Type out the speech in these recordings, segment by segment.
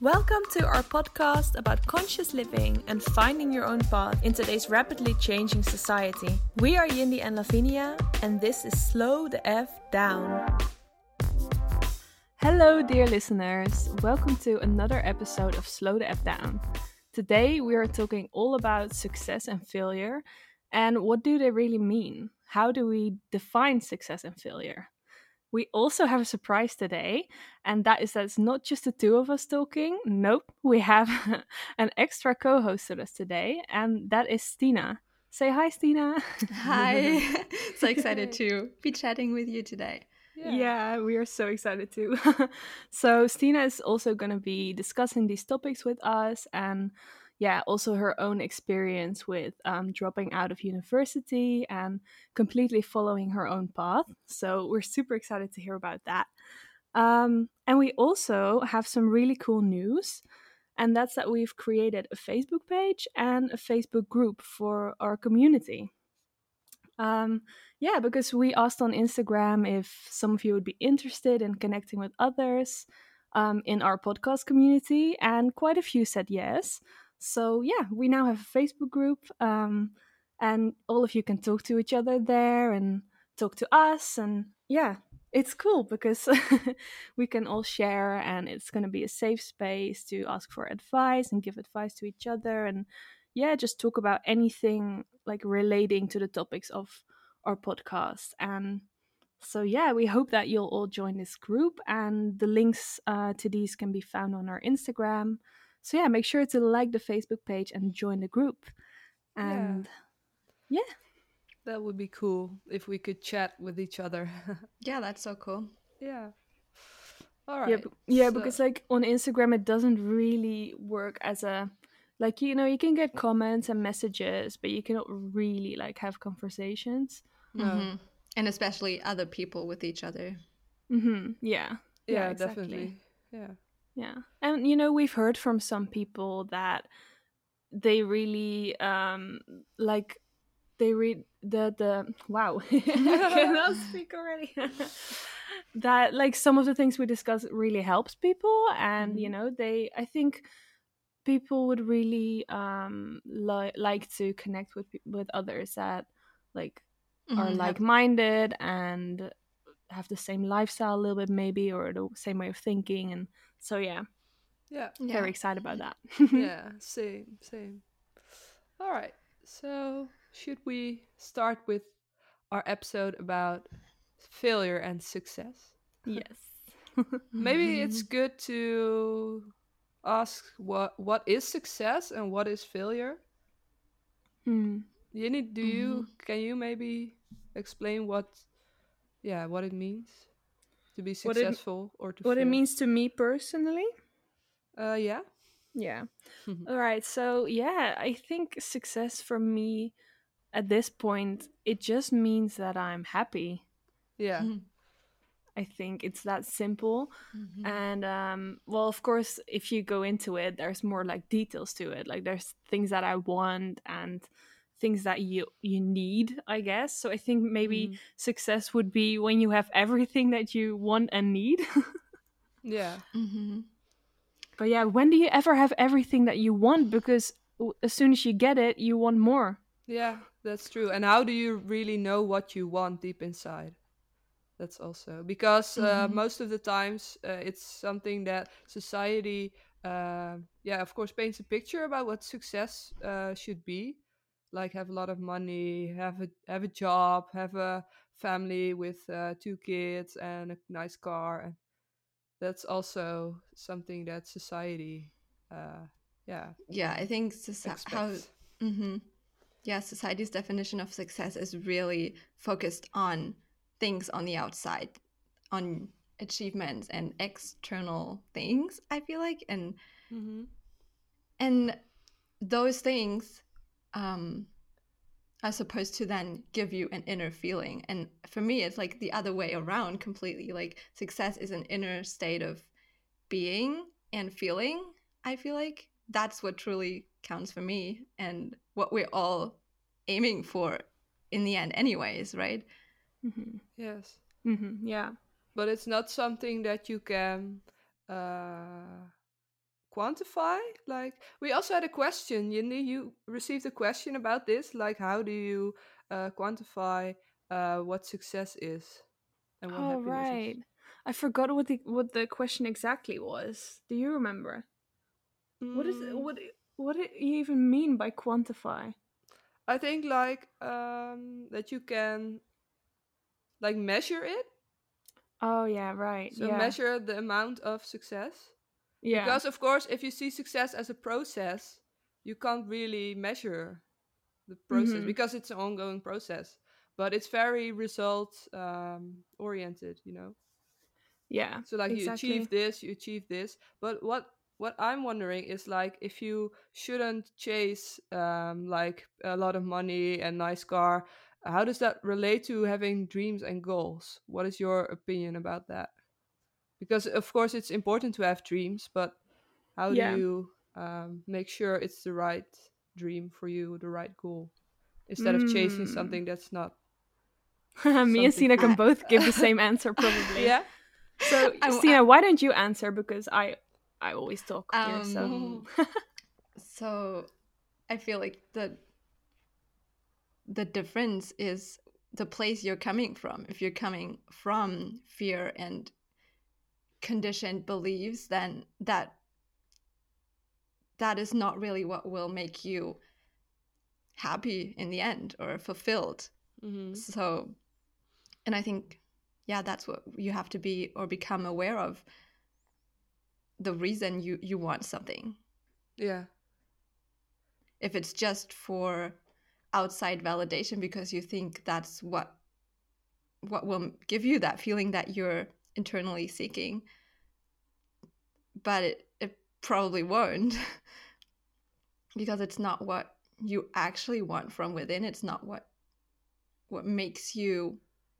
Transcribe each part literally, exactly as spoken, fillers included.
Welcome to our podcast about conscious living and finding your own path in today's rapidly changing society. We are Yindi and Lavinia, and this is Slow the F Down. Hello, dear listeners. Welcome to another episode of Slow the F Down. Today, we are talking all about success and failure, and what do they really mean? How do we define success and failure? We also have a surprise today, and that is that it's not just the two of us talking. Nope, we have an extra co-host with us today, and that is Stina. Say hi, Stina. Hi. So excited to be chatting with you today. Yeah, yeah we are so excited too. So Stina is also going to be discussing these topics with us, and yeah, also her own experience with um, dropping out of university and completely following her own path. So we're super excited to hear about that. Um, and we also have some really cool news, and that's that we've created a Facebook page and a Facebook group for our community. Um, yeah, because we asked on Instagram if some of you would be interested in connecting with others um, in our podcast community, and quite a few said yes. So, yeah, we now have a Facebook group, um, and all of you can talk to each other there and talk to us. And yeah, it's cool because we can all share, and it's going to be a safe space to ask for advice and give advice to each other. And yeah, just talk about anything like relating to the topics of our podcast. And so, yeah, we hope that you'll all join this group, and the links uh, to these can be found on our Instagram. So, yeah, make sure to like the Facebook page and join the group. And yeah, yeah. That would be cool if we could chat with each other. Yeah, that's so cool. Yeah. All right. Yeah, b- yeah, so, because like on Instagram, it doesn't really work as a like you know you can get comments and messages, but you cannot really like have conversations. no. Mm-hmm. And especially other people with each other. Mm-hmm. Yeah. Yeah, Yeah, exactly. definitely. Yeah. Yeah. And you know, we've heard from some people that they really um like they read the the wow. I cannot speak already. That like some of the things we discuss really helps people, and you Mhm. know, they I think people would really um li- like to connect with pe- with others that like are Mm-hmm. Have- like-minded and have the same lifestyle a little bit maybe, or the same way of thinking. And so yeah, Yeah. yeah. very excited about that. Yeah, same, same. All right. So, should we start with our episode about failure and success? Yes. Maybe it's good to ask what what is success and what is failure? Hmm. Jenny, do Mm-hmm. you can you maybe explain what yeah, what it means to be what it successful or to what it fail? means to me personally? Uh yeah. Yeah. All right. So yeah, I think success for me at this point, it just means that I'm happy. Yeah. I think it's that simple. Mm-hmm. And um, well, of course, if you go into it, there's more like details to it. Like there's things that I want and things that you you need, I guess. So I think maybe Mhm. success would be when you have everything that you want and need. Yeah. Mm-hmm. But yeah, when do you ever have everything that you want? Because w- as soon as you get it, you want more. Yeah, that's true. And how do you really know what you want deep inside? That's also because uh, Mm-hmm. most of the times uh, it's something that society, uh, yeah, of course, paints a picture about what success uh, should be, like have a lot of money, have a have a job, have a family with uh, two kids and a nice car, and that's also something that society, uh, yeah, Yeah, I think soci- how. expects. Mm-hmm. Yeah, society's definition of success is really focused on things on the outside, on achievements and external things, I feel like. And Mm-hmm. and those things um are supposed to then give you an inner feeling. And for me, it's like the other way around completely. Like success is an inner state of being and feeling. I feel like that's what truly counts for me and what we're all aiming for in the end, anyways, right? Mm-hmm. Yes. Mm-hmm. Yeah. But it's not something that you can uh, quantify? Like, we also had a question. Yindi, you received a question about this. Like, how do you uh, quantify uh, what success is and what Oh happiness is? right. I forgot what the what the question exactly was. Do you remember? What is Mm, what what do you even mean by quantify? I think like um, that you can like measure it. Oh yeah, right. So Yeah. measure the amount of success. Yeah. Because of course, if you see success as a process, you can't really measure the process Mhm. because it's an ongoing process. But it's very result um, oriented, you know. Yeah, So like you achieve exactly. this, you achieve this. But what what I'm wondering is like if you shouldn't chase um, like a lot of money and nice car, how does that relate to having dreams and goals? What is your opinion about that? Because of course it's important to have dreams, but how do Yeah. you um, make sure it's the right dream for you, the right goal, instead of chasing Mm. something that's not Me and something Sina for can I, you? both give the same answer probably. Yeah. So I, I Stina, why don't you answer because I I always talk here, so um so I feel like the the difference is the place you're coming from. If you're coming from fear and conditioned beliefs, then that that is not really what will make you happy in the end or fulfilled. Mm-hmm. So, and I think, yeah, that's what you have to be or become aware of, the reason you you want something. Yeah. If it's just for outside validation because you think that's what what will give you that feeling that you're internally seeking, but it, it probably won't because it's not what you actually want from within. It's not what what makes you,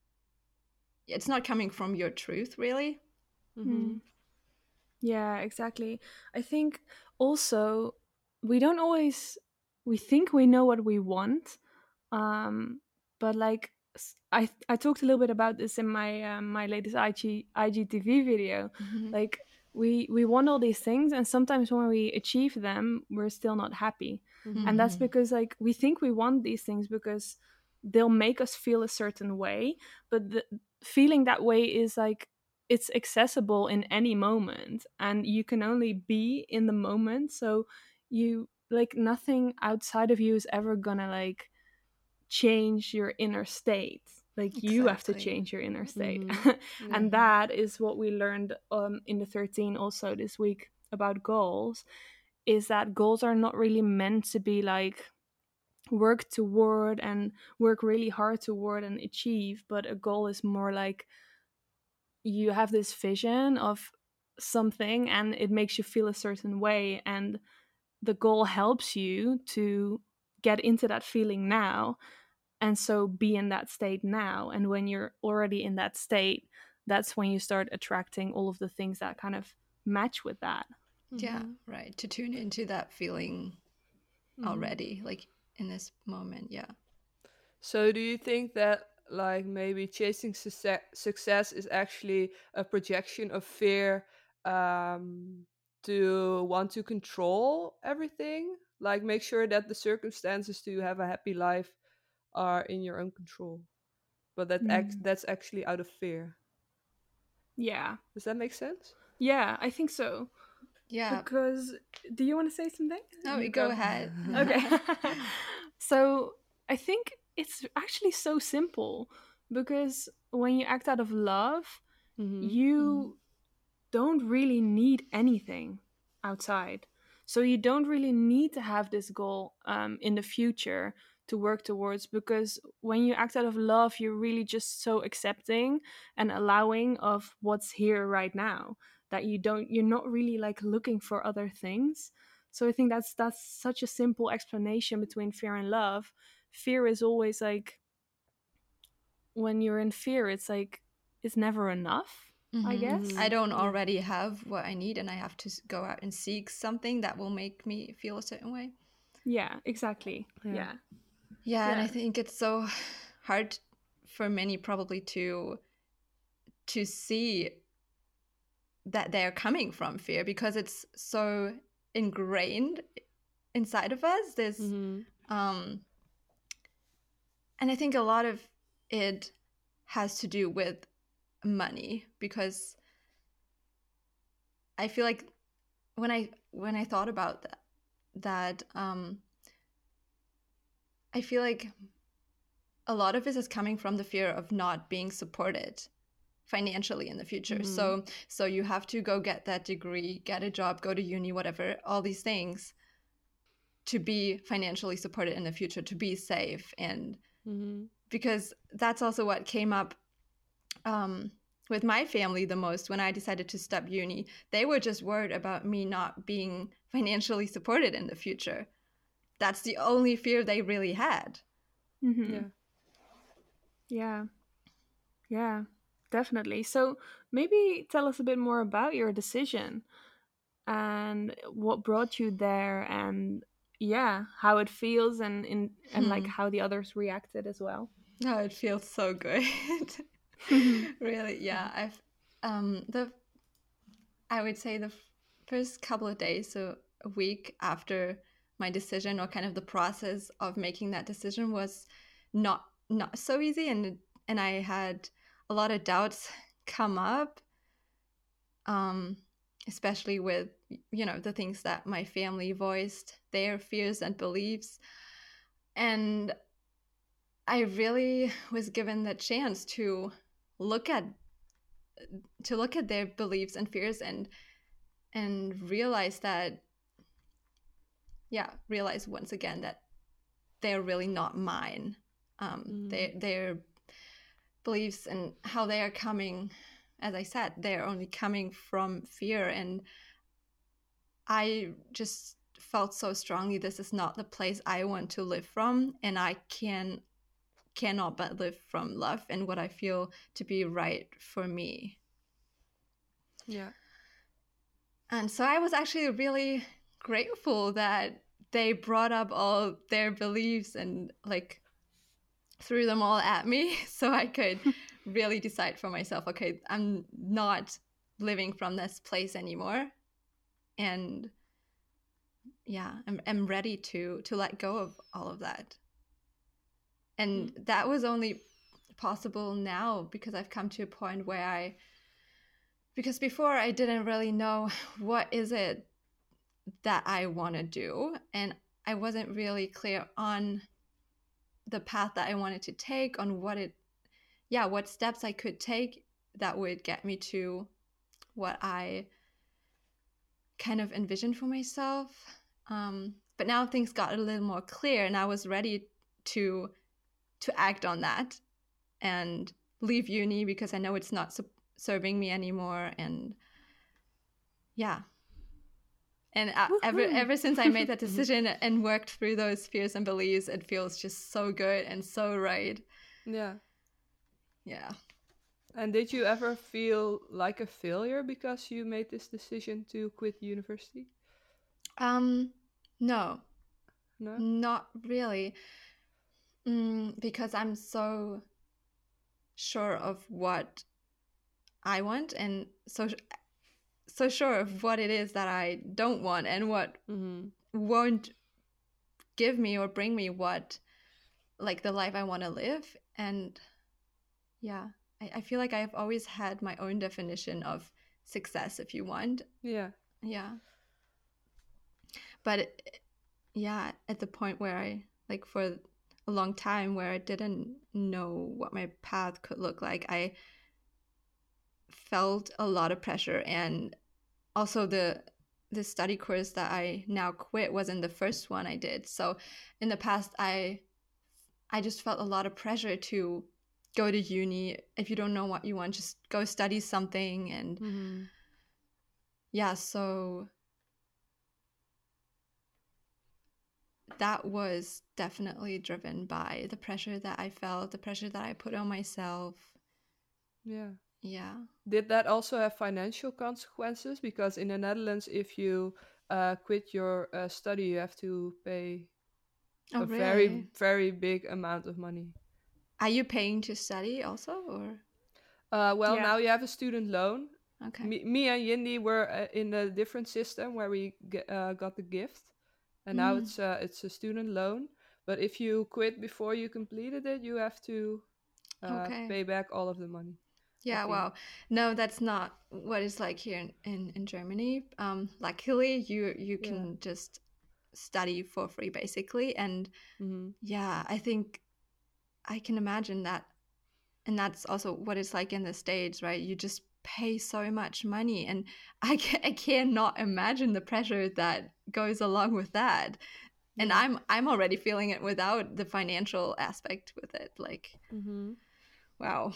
it's not coming from your truth really. Mm-hmm. mm. Yeah, exactly. I think also we don't always we think we know what we want, um, but like s- I I talked a little bit about this in my um, my latest I G I G T V video. Mm-hmm. Like we we want all these things, and sometimes when we achieve them, we're still not happy, Mm-hmm. and that's Mm-hmm. because like we think we want these things because they'll make us feel a certain way, but the feeling that way is like it's accessible in any moment and you can only be in the moment, so you like nothing outside of you is ever gonna like change your inner state. Like you have to Exactly. change your inner state. Mm-hmm. Yeah. And Mm-hmm. that is what we learned um, in the thirteen also this week about goals, is that goals are not really meant to be like work toward and work really hard toward and achieve, but a goal is more like you have this vision of something and it makes you feel a certain way, and the goal helps you to get into that feeling now, and so be in that state now. And when you're already in that state, that's when you start attracting all of the things that kind of match with that. Yeah, Mm-hmm. right. To tune into that feeling Mm-hmm. already, like in this moment. Yeah. So do you think that like maybe chasing success success is actually a projection of fear um, to want to control everything? Like make sure that the circumstances to have a happy life are in your own control, but that act Mm. that's actually out of fear. Yeah. Does that make sense? Yeah, I think so. Yeah. Because do you want to say something? No, You go go. ahead. Okay. So I think it's actually so simple because when you act out of love, Mm-hmm. Mm-hmm. you don't really need anything outside. So you don't really need to have this goal um, in the future to work towards, because when you act out of love, you're really just so accepting and allowing of what's here right now, that you don't you're not really like looking for other things. So I think that's that's such a simple explanation between fear and love. Fear is always like, when you're in fear, it's like it's never enough, I Mm-hmm. I guess. Mm-hmm. don't Yeah. already have what I need, and I have to s- go out and seek something that will make me feel a certain way. Yeah, exactly. Yeah. Yeah. Yeah, and I Yeah. think it's so hard for many probably to to see that they're coming from fear, because it's so ingrained inside of us. There's Mm-hmm. um and I think a lot of it has to do with money, because I feel like when I when I thought about that that um I feel like a lot of it is coming from the fear of not being supported financially in the future. Mm-hmm. So so you have to go get that degree, get a job, go to uni, whatever, all these things, to be financially supported in the future, to be safe. And Mm-hmm. because that's also what came up um, with my family the most when I decided to stop uni. They were just worried about me not being financially supported in the future. That's the only fear they really had. Mm-hmm. Yeah. Yeah. Yeah. Definitely. So maybe tell us a bit more about your decision and what brought you there, and yeah, how it feels, and in and like Hmm. how the others reacted as well. Oh, it feels so good. Really, yeah. I've um the I would say the f- first couple of days, so a week after my decision, or kind of the process of making that decision, was not not so easy, and and I had a lot of doubts come up, um, especially with, you know, the things that my family voiced, their fears and beliefs, and I really was given the chance to look at to look at their beliefs and fears, and and realize that yeah realize once again that they're really not mine. um Mm-hmm. they their beliefs and how they are coming, as I said, they're only coming from fear, and I just felt so strongly this is not the place I want to live from, and I can cannot but live from love and what I feel to be right for me. Yeah. And so I was actually really grateful that they brought up all their beliefs and like threw them all at me so I could really decide for myself, okay, I'm not living from this place anymore. And yeah, I'm, I'm ready to to let go of all of that. And Mm-hmm. that was only possible now because I've come to a point where I because before I didn't really know what is it that I want to do, and I wasn't really clear on the path that I wanted to take, on what it yeah, what steps I could take that would get me to what I kind of envisioned for myself. Um, but now things got a little more clear, and I was ready to to act on that and leave uni because I know it's not su- serving me anymore. And yeah, and uh, ever Woohoo. ever since I made that decision and worked through those fears and beliefs, it feels just so good and so right. Yeah. Yeah. And did you ever feel like a failure because you made this decision to quit university? Um, no, No? not really. Mm, because I'm so sure of what I want, and so so sure of what it is that I don't want, and what Mm-hmm. won't give me or bring me what like the life I want to live. And yeah, I, I feel like I've always had my own definition of success, if you want. Yeah. Yeah. But it, yeah, at the point where I like for a long time where I didn't know what my path could look like, I felt a lot of pressure. And also the the study course that I now quit wasn't the first one I did. So in the past I I just felt a lot of pressure to go to uni. If you don't know what you want, just go study something. And Mm-hmm. yeah, so that was definitely driven by the pressure that I felt, the pressure that I put on myself. Yeah. Yeah. Did that also have financial consequences? Because in the Netherlands, if you uh, quit your uh, study, you have to pay Oh, a very, really? very big amount of money. Are you paying to study also, or? Uh, well, Yeah. now you have a student loan, Okay. Me, me and Yindi were uh, in a different system where we ge- uh, got the gift, and now Mm. it's uh, it's a student loan. But if you quit before you completed it, you have to uh, Okay. pay back all of the money. I Yeah, think. wow. No, that's not what it's like here in, in, in Germany. Um, luckily, you you Yeah. can just study for free, basically. And Mm-hmm. yeah, I think I can imagine that. And that's also what it's like in the States, right? You just pay so much money. And I, ca I cannot imagine the pressure that goes along with that. And Yeah. I'm I'm already feeling it without the financial aspect with it. Like, Mm-hmm. wow.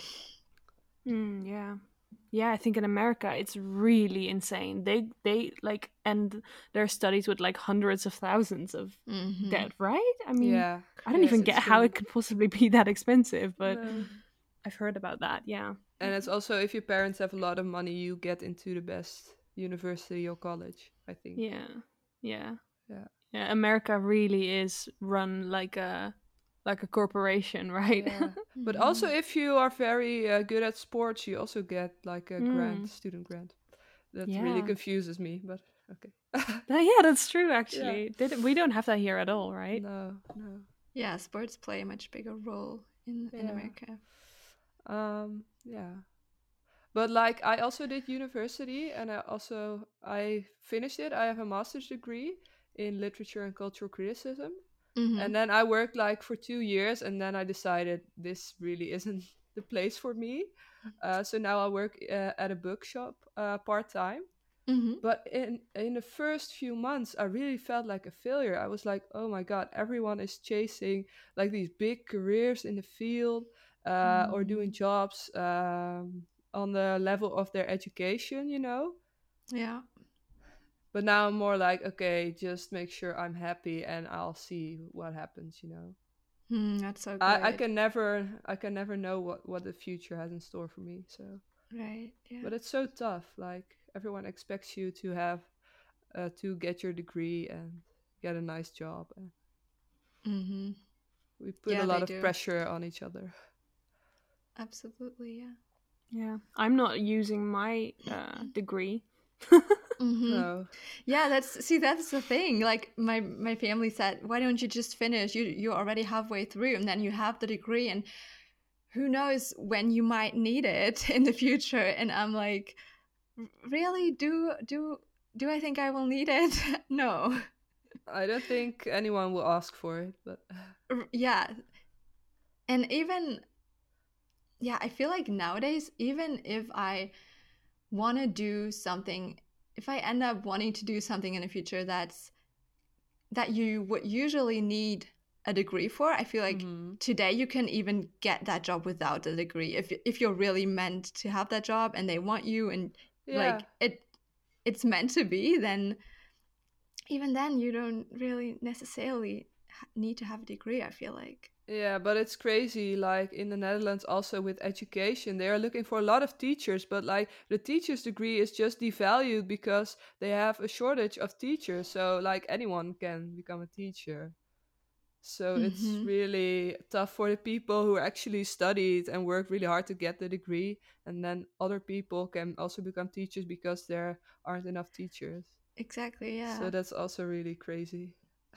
Mm, yeah. Yeah, I think in America it's really insane. They they like end their studies with like hundreds of thousands of Mm-hmm. debt, right? I mean, Yeah. I don't Yeah, even it's get how crazy. it could possibly be that expensive, but No. I've heard about that. Yeah. And it's also if your parents have a lot of money, you get into the best university or college, I think. Yeah. Yeah. Yeah. Yeah, America really is run like a like a corporation, right? Yeah. But also Mm-hmm. if you are very uh, good at sports, you also get like a grant, Mm, student grant. That really yeah. confuses me, but okay. Uh, yeah, that's true Yeah. actually. They, d- we don't have that here at all, right? No, no. Yeah, sports play a much bigger role in, in Yeah. America. Um, yeah. But like I also did university and I also I finished it. I have a master's degree in literature and cultural criticism. Mm-hmm. And then I worked like for two years and then I decided this really isn't the place for me. Uh, so now I work uh, at a bookshop uh, part time. Mm-hmm. But in in the first few months, I really felt like a failure. I was like, oh my god, everyone is chasing like these big careers in the field uh, or doing Mm. jobs um, on the level of their education, you know. Yeah. But now I'm more like, okay, just make sure I'm happy, and I'll see what happens, you know. Mm, that's so I, I good. can never I can never know what what the future has in store for me. So, Right. Yeah. but it's so tough. Like everyone expects you to have uh, to get your degree and get a nice job. And Mm-hmm. we put a Yeah, lot they of do. pressure on each other. Absolutely. Yeah. Yeah. I'm not using my uh, degree. Mm-hmm. No. Yeah, that's see, that's the thing. Like my my family said, why don't you just finish? You you're already halfway through, and then you have the degree, and who knows when you might need it in the future. And I'm like, "R- really? Do do do I think I will need it? No. I don't think anyone will ask for it, but R- Yeah. And even yeah, I feel like nowadays, even if I want to do something, if I end up wanting to do something in the future that's that you would usually need a degree for, I feel like mm-hmm. today you can even get that job without a degree if if you're really meant to have that job and they want you and Yeah. like it it's meant to be, then even then you don't really necessarily ha- need to have a degree, I feel like. Yeah, but it's crazy. Like in the Netherlands, also with education, they are looking for a lot of teachers, but like the teacher's degree is just devalued because they have a shortage of teachers. So, like, anyone can become a teacher. So, it's Mm-hmm. really tough for the people who actually studied and worked really hard to get the degree. And then other people can also become teachers because there aren't enough teachers. Exactly, So, yeah. that's also really crazy.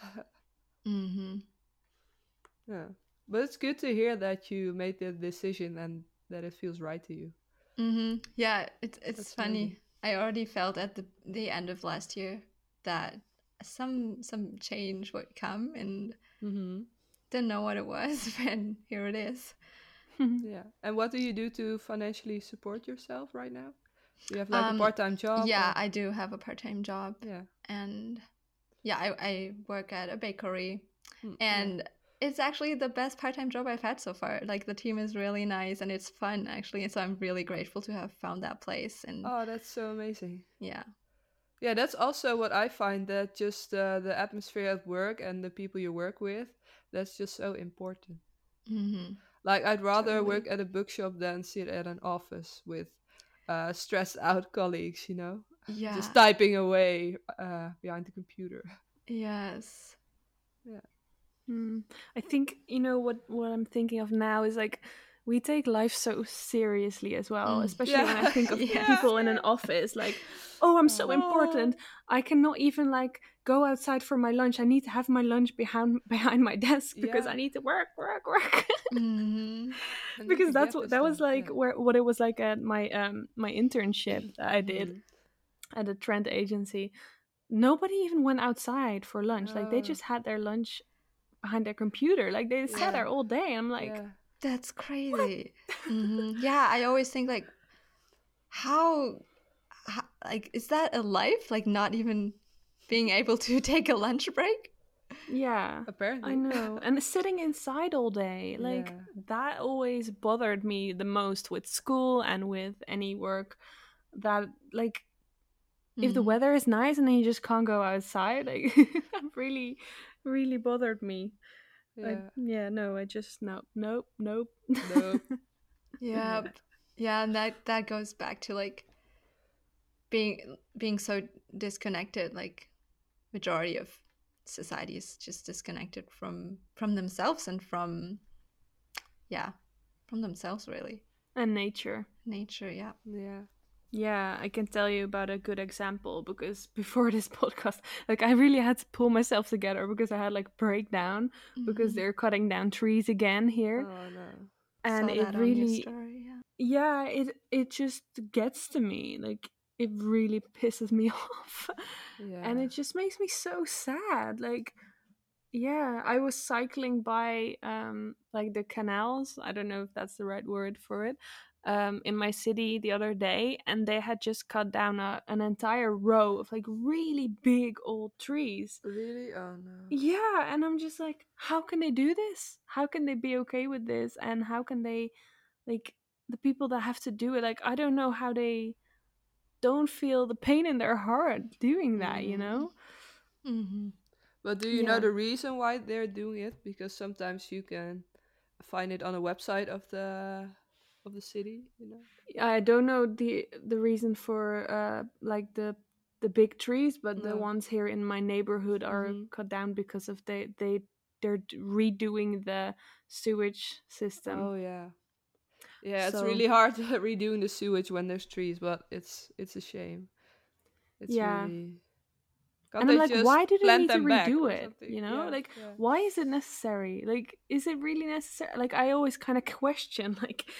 Mm-hmm. Yeah. But it's good to hear that you made the decision and that it feels right to you. Mm-hmm. Yeah, it's it's That's amazing. funny. I already felt at the the end of last year that some some change would come, and Mm-hmm. didn't know what it was, and here it is. Yeah. And what do you do to financially support yourself right now? Do you have like a Um, part-time job yeah, or? I do have a part-time job, Yeah. and yeah, I, I work at a bakery, Mm, yeah. and it's actually the best part-time job I've had so far. Like the team is really nice and it's fun actually, and so I'm really grateful to have found that place. And Oh, that's so amazing. yeah. Yeah, that's also what I find that just uh, the atmosphere at work and the people you work with, that's just so important. Mm-hmm. Like I'd rather Totally. work at a bookshop than sit at an office with uh, stressed out colleagues, you know, just Yeah. typing away uh, behind the computer. Yes. Yeah. Mm. I think you know what what I'm thinking of now is like we take life so seriously as well, Mm. especially when I Yeah. think of Yeah. people in an office, like, oh, I'm so important. Oh, I cannot even like go outside for my lunch. I need to have my lunch behind behind my desk because I yeah. need to work, work, work. Mhm. I need Because to that's get what this that was done. like Yeah. where what it was like at my um my internship that I did Mhm. at a trend agency. Nobody even went outside for lunch. Like they Oh, just had their lunch behind their computer. Like they sat yeah. there all day. I'm like, Yeah. That's crazy. Hmm Yeah, I always think like, how, how, like, is that a life? Like, not even being able to take a lunch break? yeah, I Apparently. know. And sitting inside all day, like Yeah. that always bothered me the most with school and with any work. That like if the Mhm. weather is nice and then you just can't go outside, like that really, really bothered me. I Yeah. yeah, no, I just nope, nope, nope. Nope. Yeah, yeah, and that that goes back to like being being so disconnected. Like, majority of society is just disconnected from from themselves and from, yeah, from themselves, really. And nature. Nature, yeah. Yeah. Yeah, I can tell you about a good example because before this podcast, like I really had to pull myself together because I had like breakdown because Mhm. they're cutting down trees again here. Oh no. And Saw it that on your really story, yeah. yeah, it it just gets to me. Like it really pisses me off. And Yeah. it just makes me so sad. Like yeah, I was cycling by um like the canals. I don't know if that's the right word for it. Um in my city the other day and they had just cut down a, an entire row of like really big old trees. Really? Oh no. Yeah, and I'm just like how can they do this? How can they be okay with this and how can they like the people that have to do it like I don't know how they don't feel the pain in their heart doing that, you Mm. know? Mm-hmm. But do you know Yeah. the reason why they're doing it? Because sometimes you can find it on a website of the of the city, you know? I don't know the the reason for uh like the the big trees, but the No. ones here in my neighborhood are Mm-hmm. cut down because of they they they're d- redoing the sewage system. Oh yeah. Yeah, it's So really hard redoing the sewage when there's trees, but it's it's a shame. It's yeah, really can't and I'm they like, just why do they plant need to them back redo or it? something? You know, Yeah, like yeah. why is it necessary? Like, is it really necessary? Like, I always kind of question, like,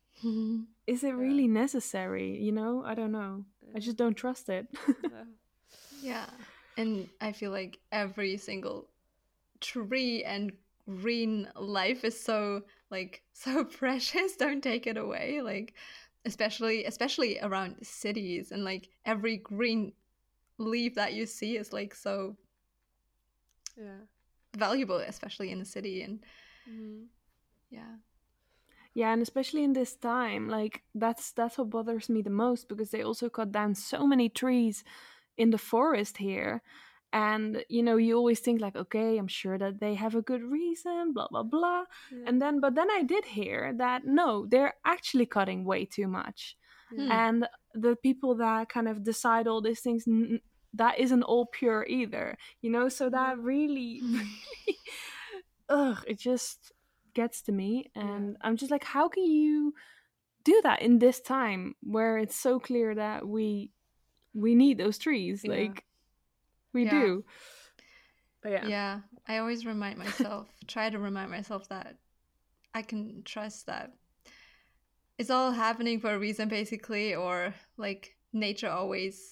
is it Yeah. really necessary? You know, I don't know. I Yeah. just don't trust it. No. Yeah. And I feel like every single tree and green life is so, like, so precious. Don't take it away. Like, especially especially around cities, and like every green leaf that you see is like so Yeah. valuable, especially in the city. And Mm-hmm. yeah. Yeah, and especially in this time, like that's that's what bothers me the most because they also cut down so many trees in the forest here. And you know, you always think like, okay, I'm sure that they have a good reason, blah blah blah. Yeah. And then but then I did hear that no, they're actually cutting way too much. Yeah. Hmm. And the people that kind of decide all these things n- that isn't all pure either, you know, so that No. really Hmm. really ugh, it just gets to me Yeah. and I'm just like how can you do that in this time where it's so clear that we we need those trees Yeah. like we Yeah. do but yeah Yeah. I always remind myself, try to remind myself that I can trust that it's all happening for a reason, basically, or like nature always,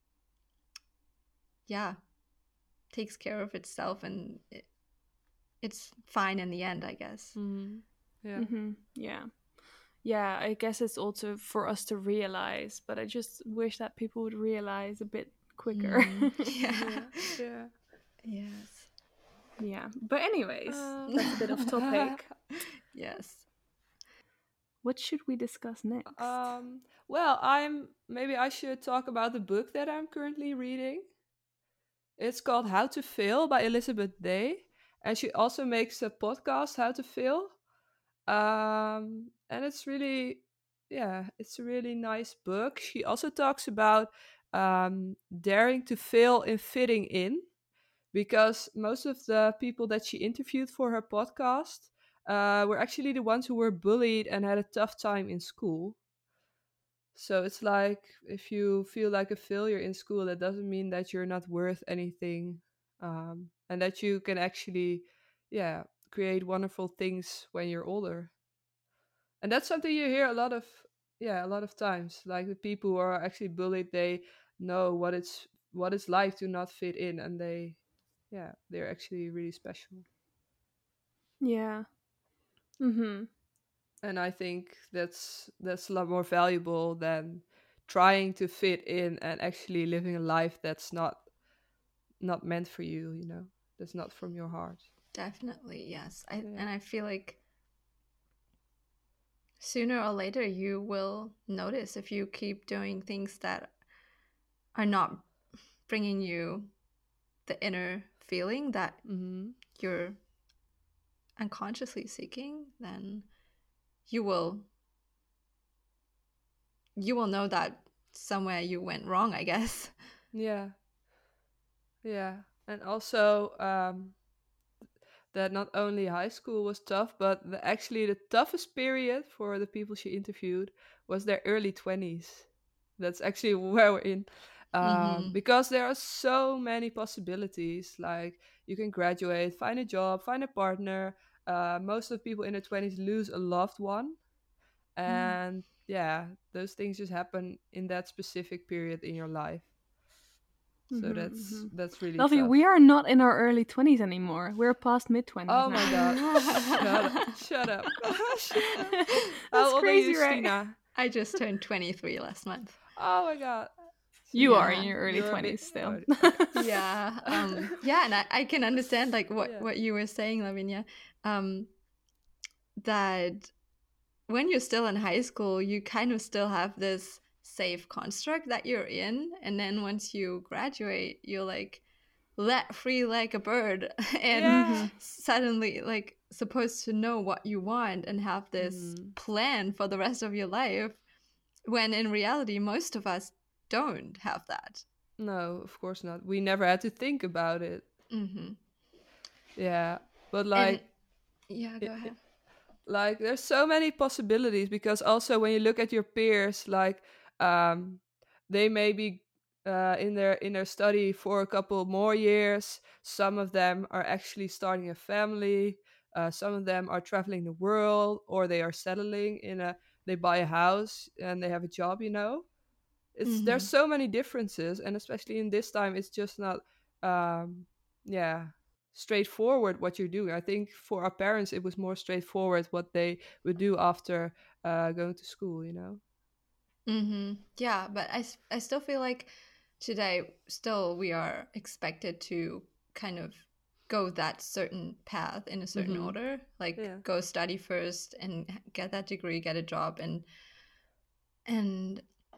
yeah, takes care of itself, and it, it's fine in the end, I guess. Mm-hmm. Yeah. hmm yeah yeah I guess it's also for us to realize but I just wish that people would realize a bit quicker Mm, yeah. Yeah. Yeah. Yes. yeah but anyways Um, that's a bit off topic Yes. what should we discuss next um, well, I'm maybe I should talk about the book that I'm currently reading. It's called How to Fail by Elizabeth Day, and she also makes a podcast, How to Fail. Um, and it's really, yeah, it's a really nice book. She also talks about um, daring to fail in fitting in, because most of the people that she interviewed for her podcast uh, were actually the ones who were bullied and had a tough time in school. So it's like if you feel like a failure in school, that doesn't mean that you're not worth anything, um, and that you can actually, yeah, create wonderful things when you're older. And that's something you hear a lot of, yeah, a lot of times. Like the people who are actually bullied, they know what it's what it's like to not fit in, and they, yeah, they're actually really special. Yeah. Mhm. And I think that's that's a lot more valuable than trying to fit in and actually living a life that's not not meant for you, you know, that's not from your heart. Definitely, yes. I Yeah. and I feel like sooner or later you will notice if you keep doing things that are not bringing you the inner feeling that Mm-hmm. you're unconsciously seeking, then you will you will know that somewhere you went wrong, I guess. Yeah. Yeah. And also, um, that not only high school was tough, but the, actually the toughest period for the people she interviewed was their early twenties. That's actually where we're in. Um, Mm-hmm. because there are so many possibilities. Like you can graduate, find a job, find a partner. Uh, most of people in their twenties lose a loved one. Mm. And yeah, those things just happen in that specific period in your life. So Mhm. that's Mhm. that's really Lovey, we tough. are not in our early twenties anymore. We're past mid twenties Oh my now. god. Shut up. Shut up. Shut up. How That's old are you, crazy, right? Stina? I just turned twenty-three last month. Oh my god. So You are yeah, in Yeah. your early you're a bit twenties still. oh, okay. Yeah. Um yeah, and I, I can understand like what Yeah. what you were saying, Lavinia. Um that when you're still in high school, you kind of still have this safe construct that you're in. And then once you graduate, you're like let free like a bird and Yeah. Mhm. suddenly like supposed to know what you want and have this Mm. plan for the rest of your life. When in reality, most of us don't have that. No, of course not. We never had to think about it. Hmm. Yeah. But And like yeah, go it, ahead. like there's so many possibilities because also when you look at your peers, like um they may be uh, in their in their study for a couple more years. Some of them are actually starting a family. Uh, some of them are traveling the world, or they are settling in a they buy a house and they have a job, you know. It's there's Hmm. so many differences, and especially in this time it's just not um yeah, straightforward what you're doing. I think for our parents it was more straightforward what they would do after uh going to school, you know. Hmm. Yeah, but I, s- I still feel like today, still, we are expected to kind of go that certain path in a certain Mm-hmm. order, like Yeah. go study first and h- get that degree, get a job, and and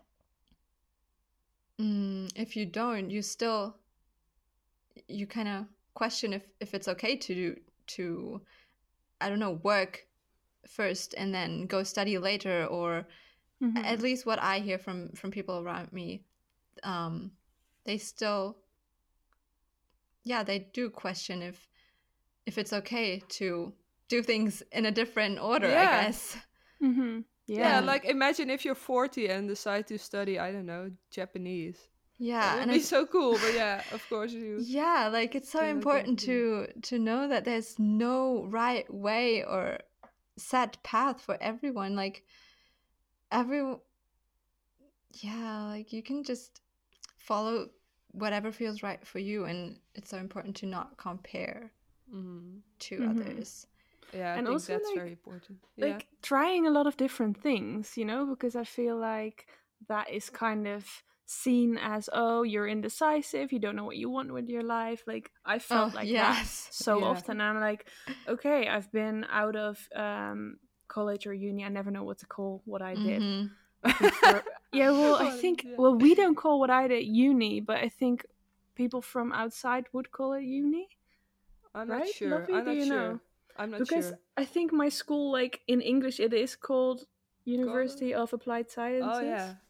mm, if you don't, you still you kind of question if if it's okay to do to I don't know work first and then go study later, or at Mhm. least what I hear from from people around me, um, they still yeah they do question if if it's okay to do things in a different order, I Yeah. guess. Mhm. Yeah, Yeah. And like imagine if you're forty and decide to study, I don't know, Japanese. That yeah, would and be it's so cool, but yeah, of course you yeah, like it's so cannot important continue. to to know that there's no right way or set path for everyone. Like every yeah, like you can just follow whatever feels right for you, and it's so important to not compare Mm-hmm. to Mhm. others. Yeah, I And think also that's very like important. Yeah. like trying a lot of different things, you know, because I feel like that is kind of seen as, oh, you're indecisive, you don't know what you want with your life. Like I Oh felt like that yes. so Yeah. often. I'm like, okay, I've been out of um college or uni. I never know what to call what I did. Mm-hmm. I think for yeah, well, I Well, think yeah. well, we don't call what I did uni, but I think people from outside would call it uni, I'm not right? sure. Lovey, I'm do not you sure. know? I'm not Because sure. I think my school, like in English, it is called God. University of Applied Oh Sciences. yeah.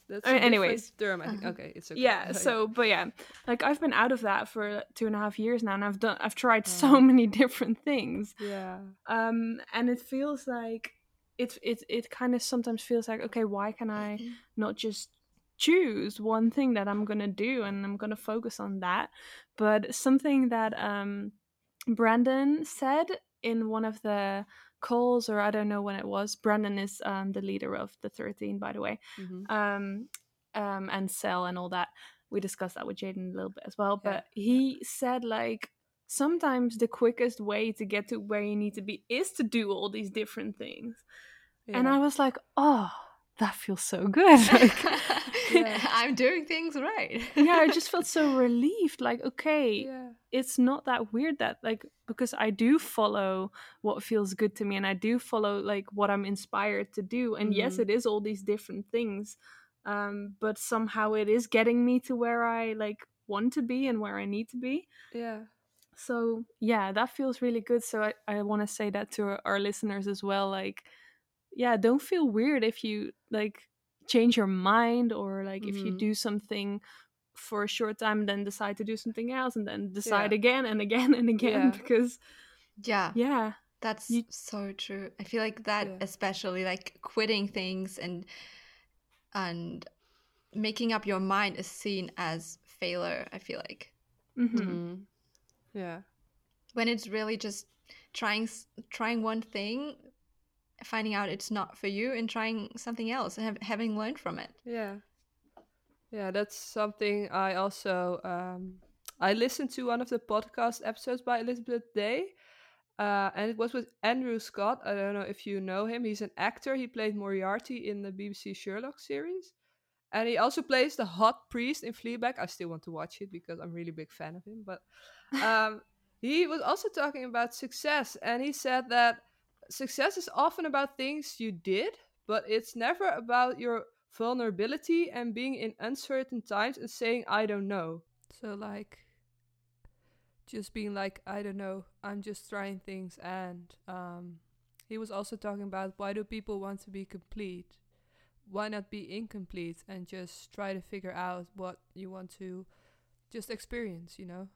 That's Uh, a different anyways. term, I think. Uh-huh. Okay, it's okay. Yeah, so but yeah, like I've been out of that for two and a half years now, and I've done I've tried so Uh, many different things. yeah. Um and it feels like it it it kind of sometimes feels like, okay, why can I not just choose one thing that I'm gonna do and I'm gonna focus on that? But something that um Brandon said in one of the calls, or I don't know when it was. Brandon is um the leader of the thirteen, by the way. Mm-hmm. Um um and Cell and all that. We discussed that with Jaden a little bit as well. Yeah. But he said, like, sometimes the quickest way to get to where you need to be is to do all these different things. Yeah. And I was like, oh, that feels so good. Like, Yeah. I'm doing things right. yeah, I just felt so relieved. Like, okay, Yeah. it's not that weird that, like, because I do follow what feels good to me, and I do follow like what I'm inspired to do. And yes, Mhm. it is all these different things, um, but somehow it is getting me to where I like want to be and where I need to be. Yeah. So yeah, that feels really good. So I, I want to say that to our, our listeners as well. Like, yeah, don't feel weird if you like change your mind, or like if you Mhm. do something for a short time, then decide to do something else, and then decide Yeah. again and again and again. Yeah. Because Yeah, yeah, that's you so true. I feel like that, Yeah. especially like quitting things and and making up your mind is seen as failure. I feel like mm-hmm. Mhm. Yeah. when it's really just trying s- trying one thing, finding out it's not for you, and trying something else and have, having learned from it. Yeah. Yeah, that's something I also um I listened to one of the podcast episodes by Elizabeth Day. Uh, and it was with Andrew Scott. I don't know if you know him. He's an actor. He played Moriarty in the B B C Sherlock series. And he also plays the hot priest in Fleabag. I still want to watch it because I'm really big fan of him. But um, he was also talking about success. And he said that success is often about things you did, but it's never about your vulnerability and being in uncertain times and saying, I don't know. So, like, just being like, I don't know, I'm just trying things. And um, he was also talking about, why do people want to be complete? Why not be incomplete and just try to figure out what you want to just experience, you know?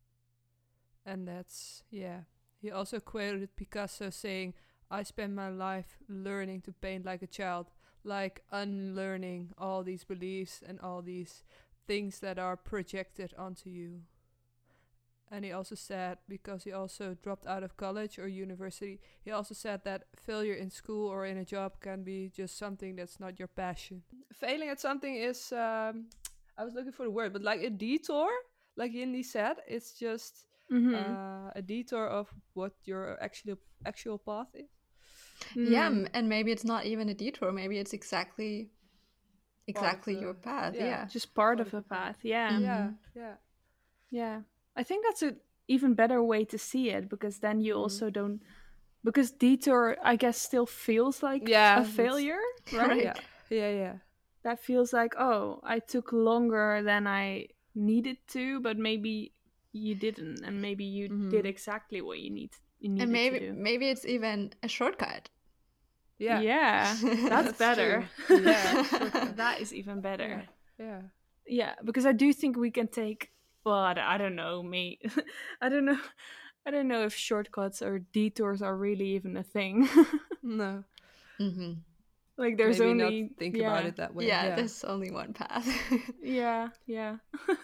And that's, yeah. He also quoted Picasso saying, I spent my life learning to paint like a child, like unlearning all these beliefs and all these things that are projected onto you. And he also said, because he also dropped out of college or university, he also said that failure in school or in a job can be just something that's not your passion. Failing at something is, um, I was looking for the word, but like a detour, like Yindi said, it's just Mm-hmm. uh, a detour of what your actual actual path is. Yeah, Mm. m- and maybe it's not even a detour. Maybe it's exactly Part of exactly the, your path. yeah, Yeah. Just part, part of of the the path. path. Yeah. Yeah, Mhm. yeah. Yeah. I think that's a even better way to see it, because then you Mhm. also don't, because detour, I guess, still feels like Yeah, a that's- failure, right? Right. Yeah, yeah, yeah. That feels like, oh, I took longer than I needed to, but maybe you didn't, and maybe you did Mhm. exactly what you need you And needed maybe to do. maybe it's even a shortcut. Yeah, Yeah, that's, that's better. true. Yeah, shortcut. That is even better. Yeah, yeah. Yeah, because I do think we can take. Well, I, don't- I don't know, me. I don't know. I don't know if shortcuts or detours are really even a thing. No, hmm Like, there's maybe not only think about yeah, it that way. Yeah, Yeah, there's only one path. yeah, yeah.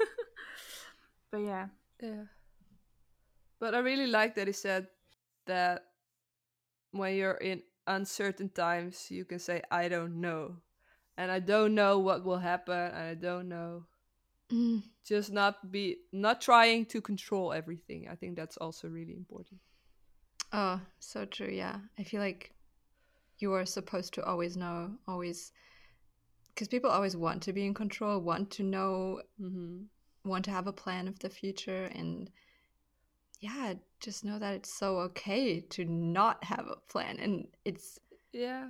But yeah, yeah. But I really like that he said that when you're in uncertain times, you can say, I don't know. And I don't know what will happen, and I don't know. Mm. Just not be, not trying to control everything. I think that's also really important. Oh, so true. Yeah, I feel like you are supposed to always know, always, because people always want to be in control, want to know, Mm-hmm. want to have a plan of the future, and yeah, just know that it's so okay to not have a plan, and it's Yeah.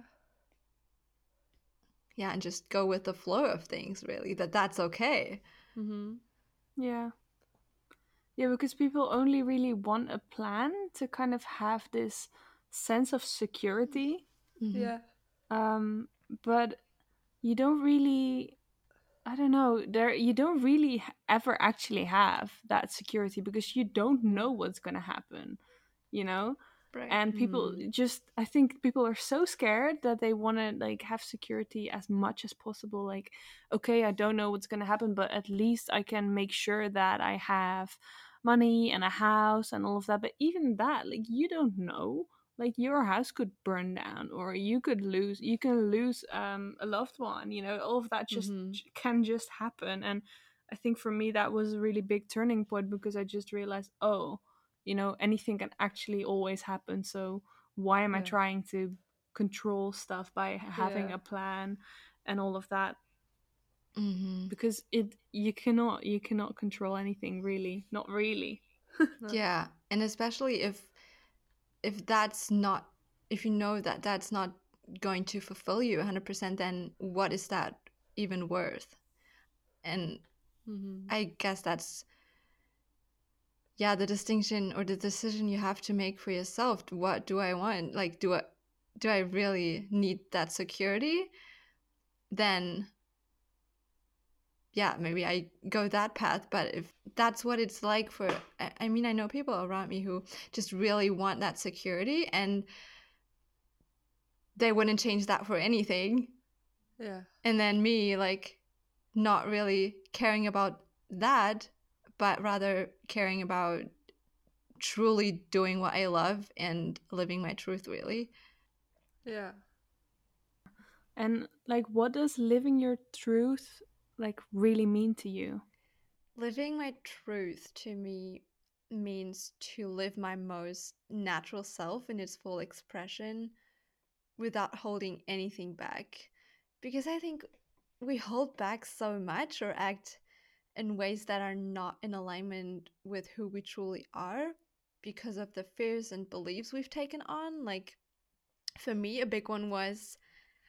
yeah, and just go with the flow of things. Really, that that's okay. Mm-hmm. yeah, yeah. Because people only really want a plan to kind of have this sense of security, Mhm. Yeah. um, but you don't really. I don't know, there you don't really h- ever actually have that security because you don't Yeah. know what's going to happen, you know? Right. And people Mm. just, I think people are so scared that they want to like have security as much as possible. Like, okay, I don't know what's going to happen, but at least I can make sure that I have money and a house and all of that. But even that, like, you don't know. Like, your house could burn down, or you could lose, you can lose um, a loved one, you know, all of that just Mhm. can just happen. And I think for me, that was a really big turning point because I just realized, oh, you know, anything can actually always happen. So why am I Yeah. trying to control stuff by having Yeah. a plan and all of that? Mm-hmm. Because it you cannot you cannot control anything, really, not really. No. Yeah, and especially if if that's not, if you know that that's not going to fulfill you one hundred percent, then what is that even worth? And Mhm. I guess that's, yeah, the distinction or the decision you have to make for yourself. What do I want? Like, do I do I really need that security? Then yeah, maybe I go that path. But if that's what it's like for, I I mean, I know people around me who just really want that security, and they wouldn't change that for anything. Yeah. And then me, like, not really caring about that, but rather caring about truly doing what I love and living my truth, really. Yeah. And like, what does living your truth like really mean to you? Living my truth to me means to live my most natural self in its full expression without holding anything back. Because I think we hold back so much or act in ways that are not in alignment with who we truly are because of the fears and beliefs we've taken on. Like, for me, a big one was,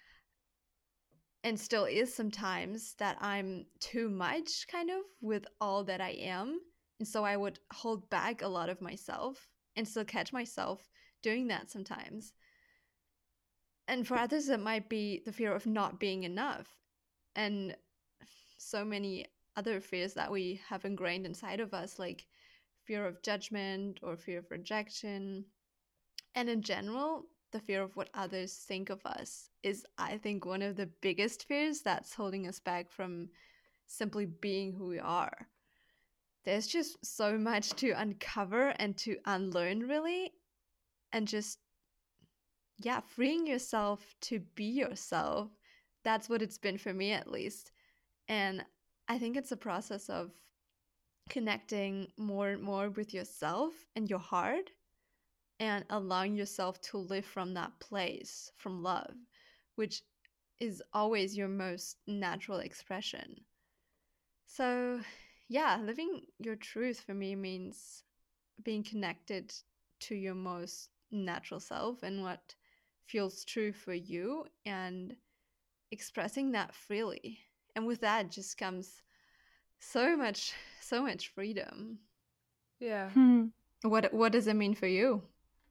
and still is sometimes, that I'm too much kind of with all that I am. And so I would hold back a lot of myself and still catch myself doing that sometimes. And for others, it might be the fear of not being enough. And so many other fears that we have ingrained inside of us, like fear of judgment or fear of rejection. And in general, the fear of what others think of us is, I think, one of the biggest fears that's holding us back from simply being who we are. There's just so much to uncover and to unlearn, really. And just, yeah, freeing yourself to be yourself. That's what it's been for me, at least. And I think it's a process of connecting more and more with yourself and your heart, and allowing yourself to live from that place, from love, which is always your most natural expression. So, yeah, living your truth for me means being connected to your most natural self and what feels true for you, and expressing that freely. And with that just comes so much, so much freedom. Yeah. Hmm. What what does it mean for you?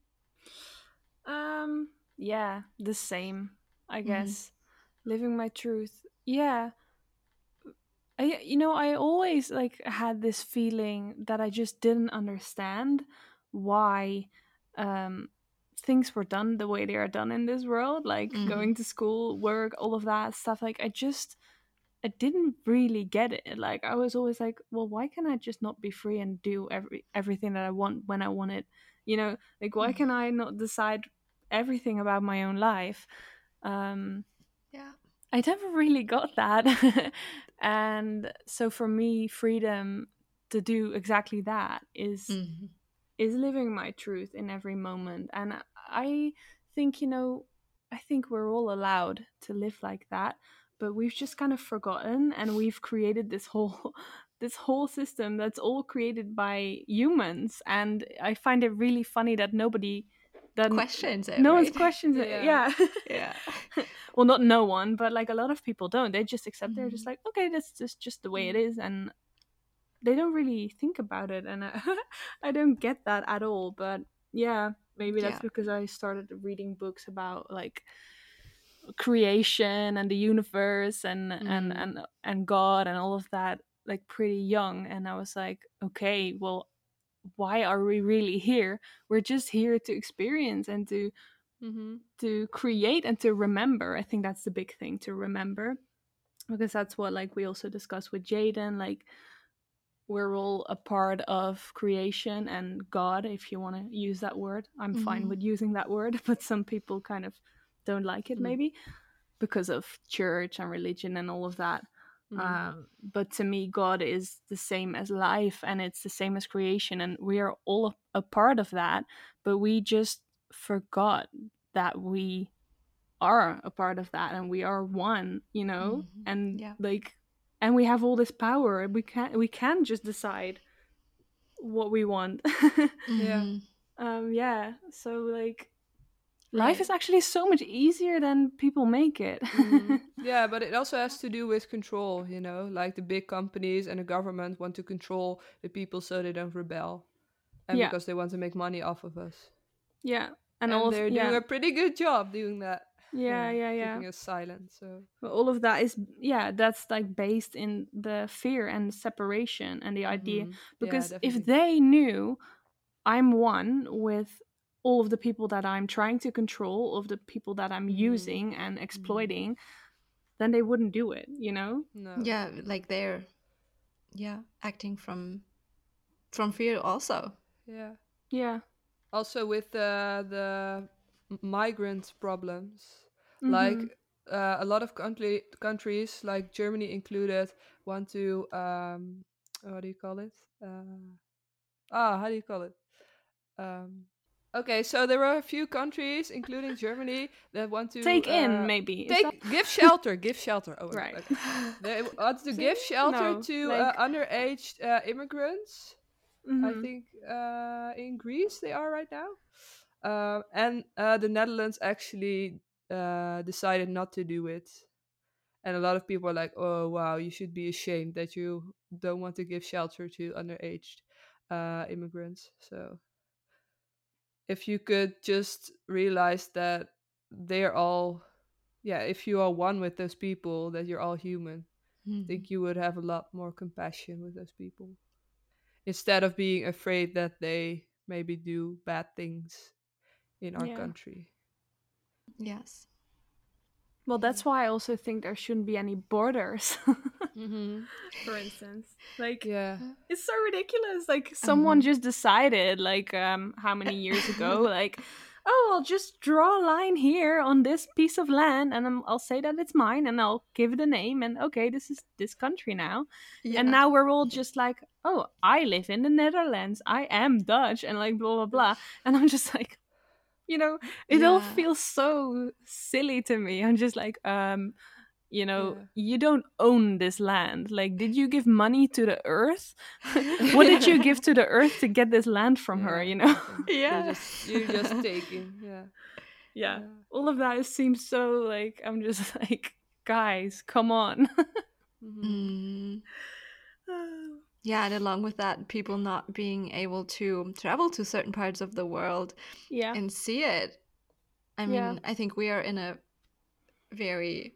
Um, yeah, the same, I Mm-hmm. guess. Living my truth. Yeah. I, you know, I always like had this feeling that I just didn't understand why um things were done the way they are done in this world, like Mm-hmm. going to school, work, all of that stuff. Like, I just I didn't really get it. Like, I was always like, well, why can I just not be free and do every everything that I want when I want it? You know, like, why can I not decide everything about my own life? Um, Yeah. I never really got that. And so for me, freedom to do exactly that is Mm-hmm. is living my truth in every moment. And I think, you know, I think we're all allowed to live like that, but we've just kind of forgotten, and we've created this whole this whole system that's all created by humans. And I find it really funny that nobody that n- Questions it, no one's right? questions it. Yeah. Yeah. Yeah. Well, not no one, but like a lot of people don't. They just accept, they're just Mhm. like, okay, that's just just the way it Mm. is. And they don't really think about it. And I, I don't get that at all. But yeah, maybe that's Yeah. because I started reading books about like creation and the universe and and Mm. and and God and all of that like pretty young, and I was like, okay, well, why are we really here? We're just here to experience and to Mm-hmm. to create and to remember. I think that's the big thing, to remember, because that's what like we also discussed with Jaden, like we're all a part of creation and God, if you want to use that word. I'm fine Mhm. with using that word, but some people kind of don't like it, Mm. maybe because of church and religion and all of that. Mm. Um, but to me, God is the same as life, and it's the same as creation, and we are all a part of that. But we just forgot that we are a part of that, and we are one, you know, Mhm. and Yeah. like, and we have all this power. We can we can just decide what we want. Yeah. Mhm. um, yeah. So like, life Right. is actually so much easier than people make it. Mm. Yeah, but it also has to do with control, you know, like the big companies and the government want to control the people so they don't rebel, and Yeah, because they want to make money off of us. yeah, and all And of they're doing yeah, a pretty good job doing that. yeah, Yeah, yeah, yeah. keeping us silent. So, But all of that is, yeah, that's like based in the fear and separation and the idea. hmm, yeah, Because if definitely. they knew I'm one with all of the people that I'm trying to control, all of the people that I'm Hmm. using and Hmm. exploiting, then they wouldn't do it, you know? No. Yeah, like they're yeah, acting from from fear also. Yeah. Yeah. Also with uh, the m- migrant problems, like Mm-hmm. uh, a lot of country countries, like Germany included, want to um, what do you call it? Uh, ah, how do you call it? Um, okay, so there are a few countries, including Germany, that want to Take in, uh, maybe. Is that take give shelter, give shelter. Oh my god, right? okay. They want to See? give shelter No. to uh, Like, underage uh, immigrants. I mm-hmm. think uh, in Greece they are right now. Um, and uh, the Netherlands actually uh, decided not to do it. And a lot of people are like, oh, wow, you should be ashamed that you don't want to give shelter to underage uh, immigrants. So if you could just realize that they're all, yeah, if you are one with those people, that you're all human, I Mhm. think you would have a lot more compassion with those people instead of being afraid that they maybe do bad things in our Yeah. country. Yes. Well, Yeah. that's why I also think there shouldn't be any borders. Mm-hmm. For instance, like, Yeah. Uh, it's so ridiculous. Like, someone mhm. just decided, like, um how many years ago, like, oh, I'll just draw a line here on this piece of land, and I'm, I'll say that it's mine, and I'll give it a name, and okay, this is this country now. And Yeah. now we're all just like, oh, I live in the Netherlands, I am Dutch, and like blah blah blah. And I'm just like, you know, it all Yeah. feels so silly to me. I'm just like, um you know, Yeah. you don't own this land. Like, did you give money to the earth? What did you give to the earth to get this land from her, Yeah, you know? nothing. You're Yeah. just you're just taking. Yeah. Yeah, Yeah. all of that seems so like, I'm just like, guys, come on. Mm-hmm. Mm. Yeah, and along with that, people not being able to travel to certain parts of the world Yeah, and see it. I yeah, mean, I think we are in a very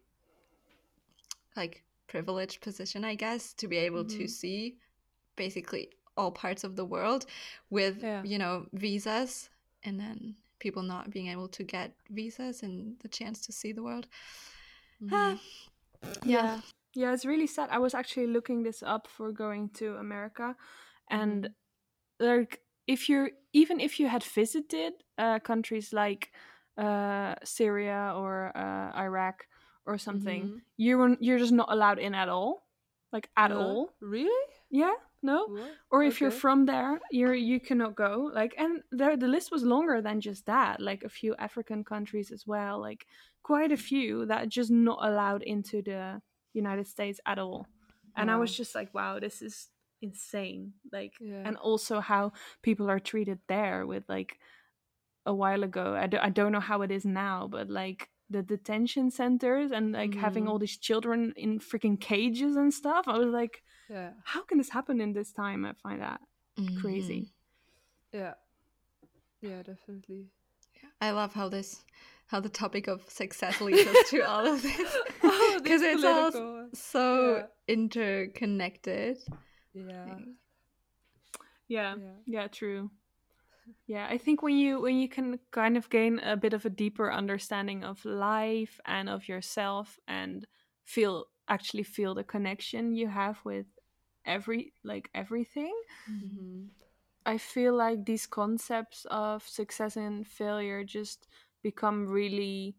like privileged position, I guess, to be able to Mm-hmm. see basically all parts of the world with, Yeah. you know, visas, and then people not being able to get visas and the chance to see the world. Mm-hmm. Ah, yeah. yeah. Yeah, it's really sad. I was actually looking this up for going to America, and Mm-hmm. like, if you're, even if you had visited uh, countries like uh, Syria or uh, Iraq or something, Mm-hmm. you were, you're just not allowed in at all, like at Huh? all. Really? Yeah, no. What? Or if you're Okay. from there, you're you cannot go. Like, and there the list was longer than just that. Like a few African countries as well. Like quite a few that are just not allowed into the United States at all. And I was Wow. just like, wow, this is insane. Like, Yeah. and also how people are treated there with like, a while ago. I, do, I don't know how it is now, but like the detention centers and like having Mm-hmm. all these children in freaking cages and stuff. I was like, Yeah. how can this happen in this time? I find that Hmm. crazy. Yeah. Yeah, definitely. I love how this, how the topic of success leads us to all of this, Oh, because this it's all political. so Yeah. interconnected. Yeah. Yeah, Yeah. yeah, true. Yeah, I think when you when you can kind of gain a bit of a deeper understanding of life and of yourself, and feel actually feel the connection you have with every like everything, Mm-hmm. I feel like these concepts of success and failure just become really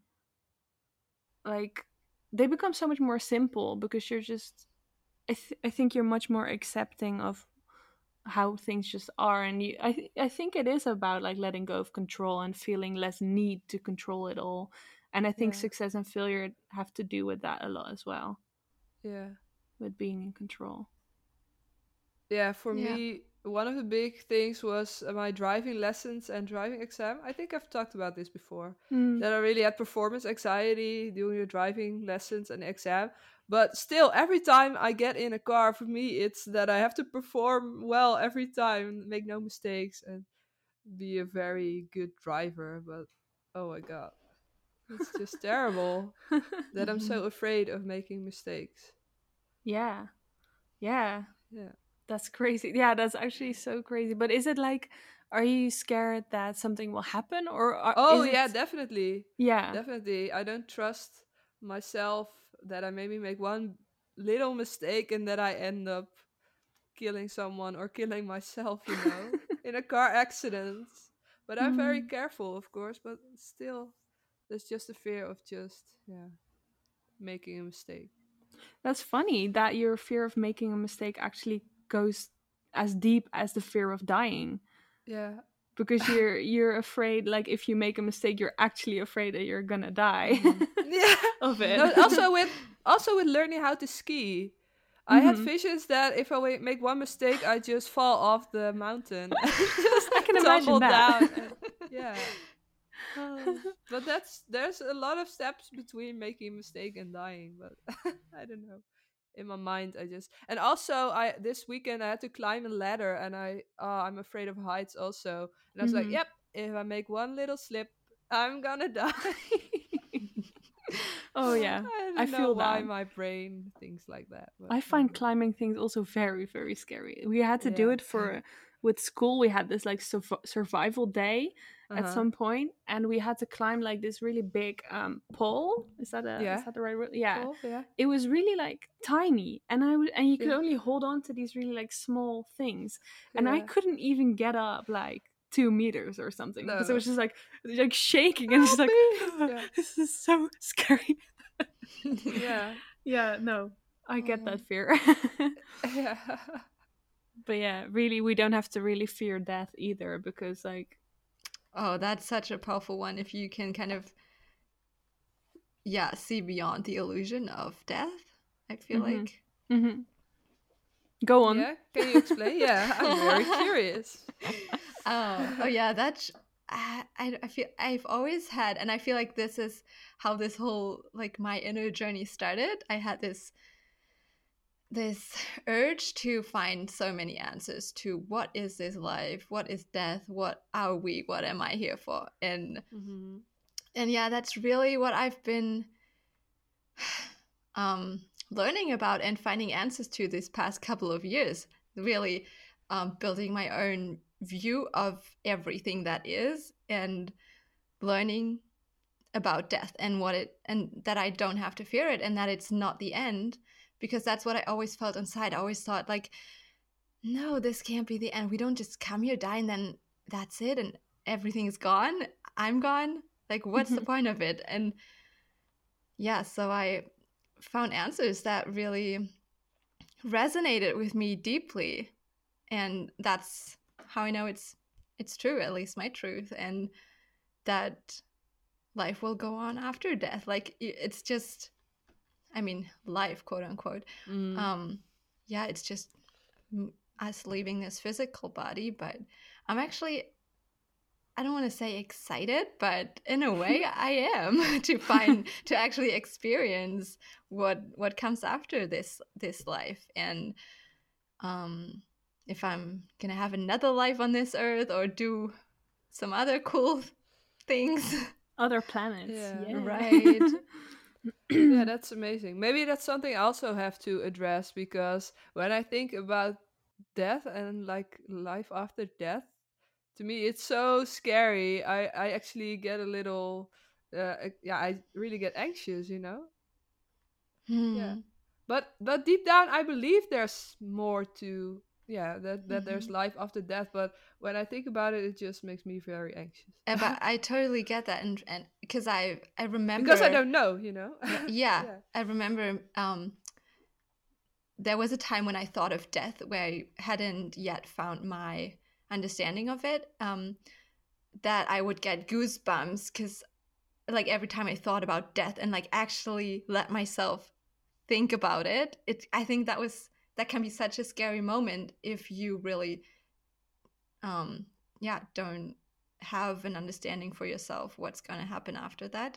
like they become so much more simple, because you're just I, th- I think you're much more accepting of how things just are, and you I, th- I think it is about like letting go of control and feeling less need to control it all, and I think Yeah. success and failure have to do with that a lot as well, Yeah. with being in control. Yeah, for Yeah. me, one of the big things was uh, my driving lessons and driving exam. I think I've talked about this before. Mm. That I really had performance anxiety doing the driving lessons and exam. But still, every time I get in a car, for me, it's that I have to perform well every time, make no mistakes, and be a very good driver. But oh my god, it's just terrible that I'm so afraid of making mistakes. Yeah, yeah, Yeah. that's crazy. Yeah, that's actually so crazy. But is it like, are you scared that something will happen, or are, Oh is it? yeah, definitely. Yeah. Definitely. I don't trust myself that I maybe make one little mistake and that I end up killing someone or killing myself, you know, in a car accident. But I'm very Mm. careful, of course, but still there's just a fear of just, yeah, making a mistake. That's funny that your fear of making a mistake actually goes as deep as the fear of dying, Yeah. because you're you're afraid, like if you make a mistake you're actually afraid that you're gonna die Mhm. Yeah. of it. No, also with also with learning how to ski. I had Mhm. visions that if I wa- make one mistake, I just fall off the mountain and just I can imagine tumble that. down. And, yeah. Oh, but that's there's a lot of steps between making a mistake and dying. But I don't know. In my mind, I just and also I this weekend I had to climb a ladder, and I uh, I'm afraid of heights also. And I was like, Mhm. yep, if I make one little slip, I'm gonna die. Oh yeah, I I don't know feel why that. my brain thinks like that, but I I don't find know. climbing things also very, very scary. We had to do Yeah. it for with school. We had this like surv- survival day Uh at huh. some point, and we had to climb like this really big um, pole. Is that a is Yeah. that the right word? Yeah, Cool. Yeah. it was really like tiny, and I would and you could Yeah. only hold on to these really like small things, and I Yeah. couldn't even get up like two meters or something, because it No. was just like like shaking and just Help like me. Yeah. this is so scary. Yeah. Yeah, no, I get Oh. that fear. Yeah. But yeah, really, we don't have to really fear death either, because like, Oh, that's such a powerful one. If you can kind of, yeah, see beyond the illusion of death, I feel mm-hmm, like. mm-hmm. Go on. Yeah. Can you explain? Yeah, I'm very curious. Oh, oh yeah, that's I, I I feel I've always had, and I feel like this is how this whole like my inner journey started. I had this this urge to find so many answers to what is this life, what is death, what are we, what am I here for, and Mm-hmm. and yeah, that's really what I've been um, learning about and finding answers to this past couple of years. Really um, building my own view of everything that is, and learning about death and what it and that I don't have to fear it, and that it's not the end, because that's what I always felt inside. I always thought like, no, this can't be the end. We don't just come here, die, and then that's it, and everything is gone. I'm gone. Like, what's the Mm-hmm. point of it? And yeah, so I found answers that really resonated with me deeply, and that's how I know it's it's true, at least my truth, and that life will go on after death. Like it's just, I mean, life, quote unquote. Mm. Um, yeah, it's just us leaving this physical body, but I'm actually, I don't want to say excited, but in a way I am to find to actually experience what what comes after this this life, and um if I'm gonna have another life on this earth or do some other cool things. Other planets. Yeah. Yeah. Right. Yeah, that's amazing. Maybe that's something I also have to address, because when I think about death and like life after death, to me it's so scary. I I actually get a little uh uh, yeah, I really get anxious, you know? Yeah. Hmm. But but deep down I believe there's more to, yeah, that that there's Mhm. life after death, but when I think about it it just makes me very anxious. Uh, but I totally get that, and and because I I Because I remember, don't know, you know? r- yeah, Yeah. I remember. Um, there was a time when I thought of death where I hadn't yet found my understanding of it. Um, that I would get goosebumps because, like, every time I thought about death and like actually let myself think about it, it I think that was that can be such a scary moment if you really, um, yeah, don't have an understanding for yourself what's going to happen after that.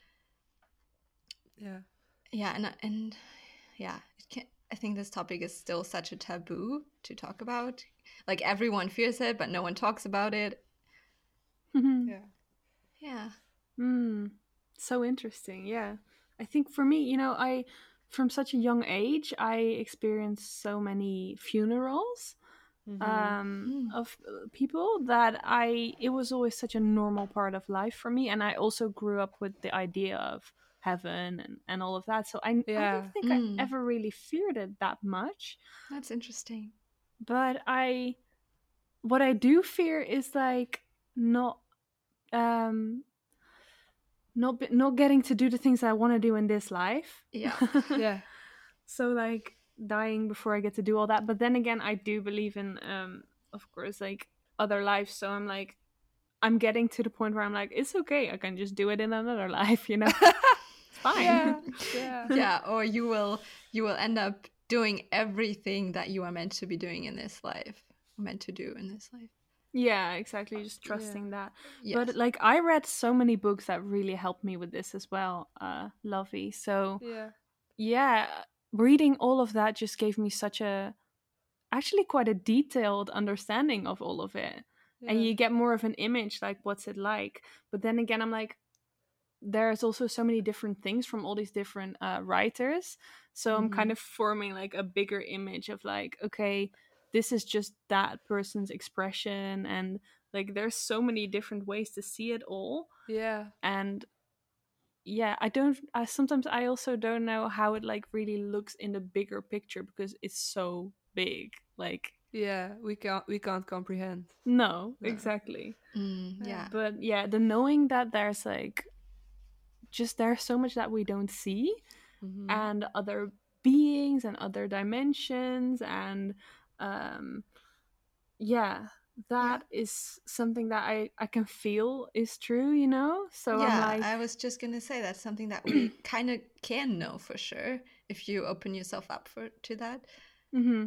Yeah. Yeah, and and yeah, it can, I think this topic is still such a taboo to talk about. Like everyone fears it, but no one talks about it. Yeah. Yeah. Mm, so interesting. Yeah. I think for me, you know, I, from such a young age, I experienced so many funerals Mhm. um, Mm. of uh, people that I, it was always such a normal part of life for me. And I also grew up with the idea of heaven and, and all of that. So I, I don't Yeah. think I Mm. ever really feared it that much. That's interesting. But I, what I do fear is like not, um, not, be- not getting to do the things I want to do in this life. Yeah. Yeah. So like dying before I get to do all that. But then again, I do believe in, um, of course, like other lives. So I'm like, I'm getting to the point where I'm like, it's okay. I can just do it in another life. You know, it's fine. Yeah. Yeah. Yeah, or you will you will end up doing everything that you are meant to be doing in this life, meant to do in this life. Yeah, exactly. Just Yeah. trusting that. Yes. But like, I read so many books that really helped me with this as well, uh, Lovey. So Yeah. yeah, reading all of that just gave me such a, actually quite a detailed understanding of all of it. And Yeah. you get more of an image, like what's it like. But then again, I'm like, there's also so many different things from all these different uh, writers. So I'm kind Mhm. of forming like a bigger image of like, okay, this is just that person's expression. And like, there's so many different ways to see it all. Yeah. And yeah, I don't, I sometimes I also don't know how it like really looks in the bigger picture because it's so big. Like, Yeah. We can't we can't comprehend. no, No. exactly. Mm, Yeah. yeah. But yeah, the knowing that there's like, just there's so much that we don't see, Mhm. and other beings and other dimensions, and um yeah, Yeah. that is something that i i can feel is true, you know. So I'm Yeah, like, I was just gonna say that's something that we kind of can know for sure if you open yourself up for to that. mm-hmm,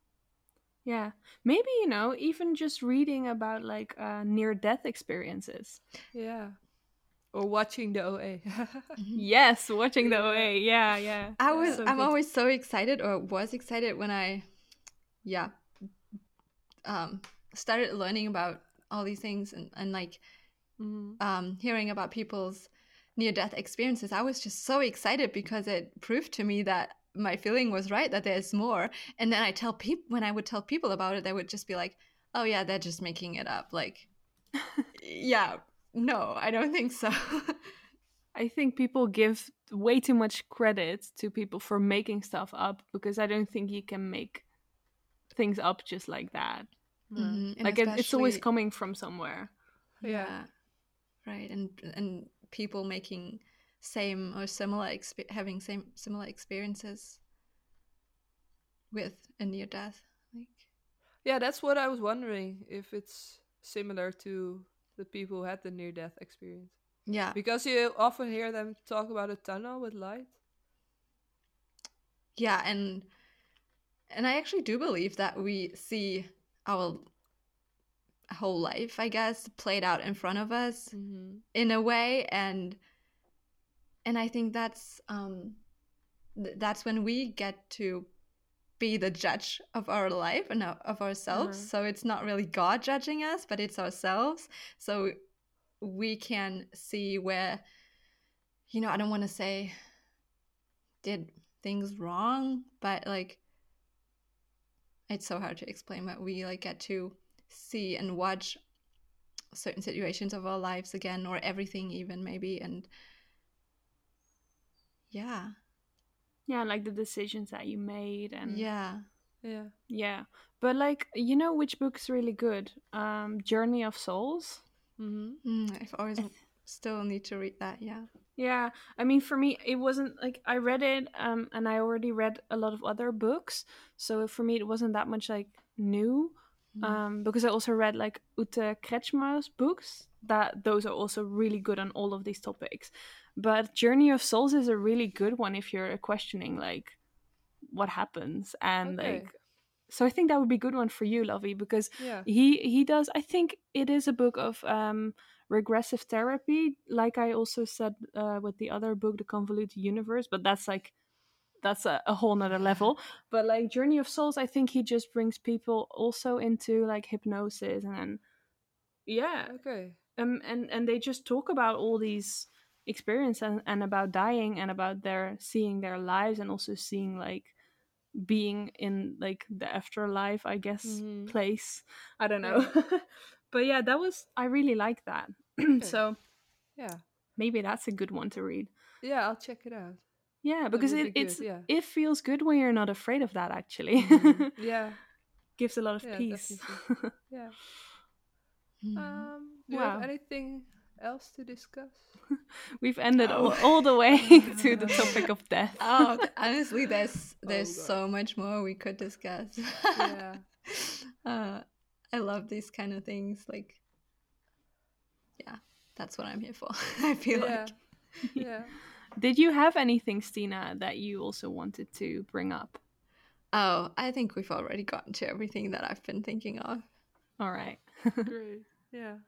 yeah, maybe, you know, even just reading about like uh, near death experiences. Yeah. Or watching the O A. Mhm. Yes, watching the Yeah. O A. Yeah, yeah, I was Yeah. so I'm good. always so excited or was excited when I yeah um started learning about all these things and, and like Mhm. um hearing about people's near death experiences. I was just so excited because it proved to me that my feeling was right, that there's more. And then I tell people when I would tell people about it, they would just be like, oh yeah, they're just making it up. Like, yeah, no, I don't think so. I think people give way too much credit to people for making stuff up because I don't think you can make things up just like that. No. Hmm. And Like it, it's always especially coming from somewhere. Yeah. yeah, right. And and people making same or similar exp- having same similar experiences with a near death. Like, Yeah, that's what I was wondering, if it's similar to the people who had the near death experience. yeah, Because you often hear them talk about a tunnel with light. yeah, and and I actually do believe that we see our whole life, I guess, played out in front of us Mhm. in a way, and and I think that's um th- that's when we get to be the judge of our life and of ourselves. Uh-huh. So it's not really God judging us, but it's ourselves. So we can see where, you know, I don't want to say did things wrong, but like it's so hard to explain, but we like get to see and watch certain situations of our lives again, or everything even maybe, and yeah. Yeah, like the decisions that you made and Yeah. Yeah. yeah. But like, you know which book's really good? Um Journey of Souls. Mm-hmm. Mm, I've always I th- still need to read that, yeah. Yeah, I mean, for me, it wasn't like I read it, um, and I already read a lot of other books, so for me, it wasn't that much like new, Mm. um, because I also read like Ute Kretschmer's books. That those are also really good on all of these topics, but Journey of Souls is a really good one if you're questioning like what happens and Okay. like. So I think that would be a good one for you, Lovey, because Yeah. he he does. I think it is a book of um regressive therapy, like I also said uh, with the other book, The Convoluted Universe, but that's like that's a, a whole nother level. But like Journey of Souls, I think he just brings people also into like hypnosis and then yeah, Okay. um, and and they just talk about all these experiences and, and about dying and about their seeing their lives and also seeing like being in like the afterlife, I guess, Mm-hmm. place. I don't Yeah. know. But yeah, that was I really like that. Okay. So Yeah. maybe that's a good one to read. Yeah, I'll check it out. Yeah, That because would it be it's good. Yeah. it feels good when you're not afraid of that actually. Mhm. Yeah. Gives a lot of Yeah, peace. definitely. Yeah. Mm. Um, do you have Wow. anything else to discuss? We've ended Oh. all, all the way to the topic of death. Oh, th- honestly, there's there's God. so much more we could discuss. Yeah. uh, I love these kind of things. Like, yeah, that's what I'm here for. I feel Yeah. like. Yeah. Did you have anything, Stina, that you also wanted to bring up? Oh, I think we've already gotten to everything that I've been thinking of. All right. Great. Yeah.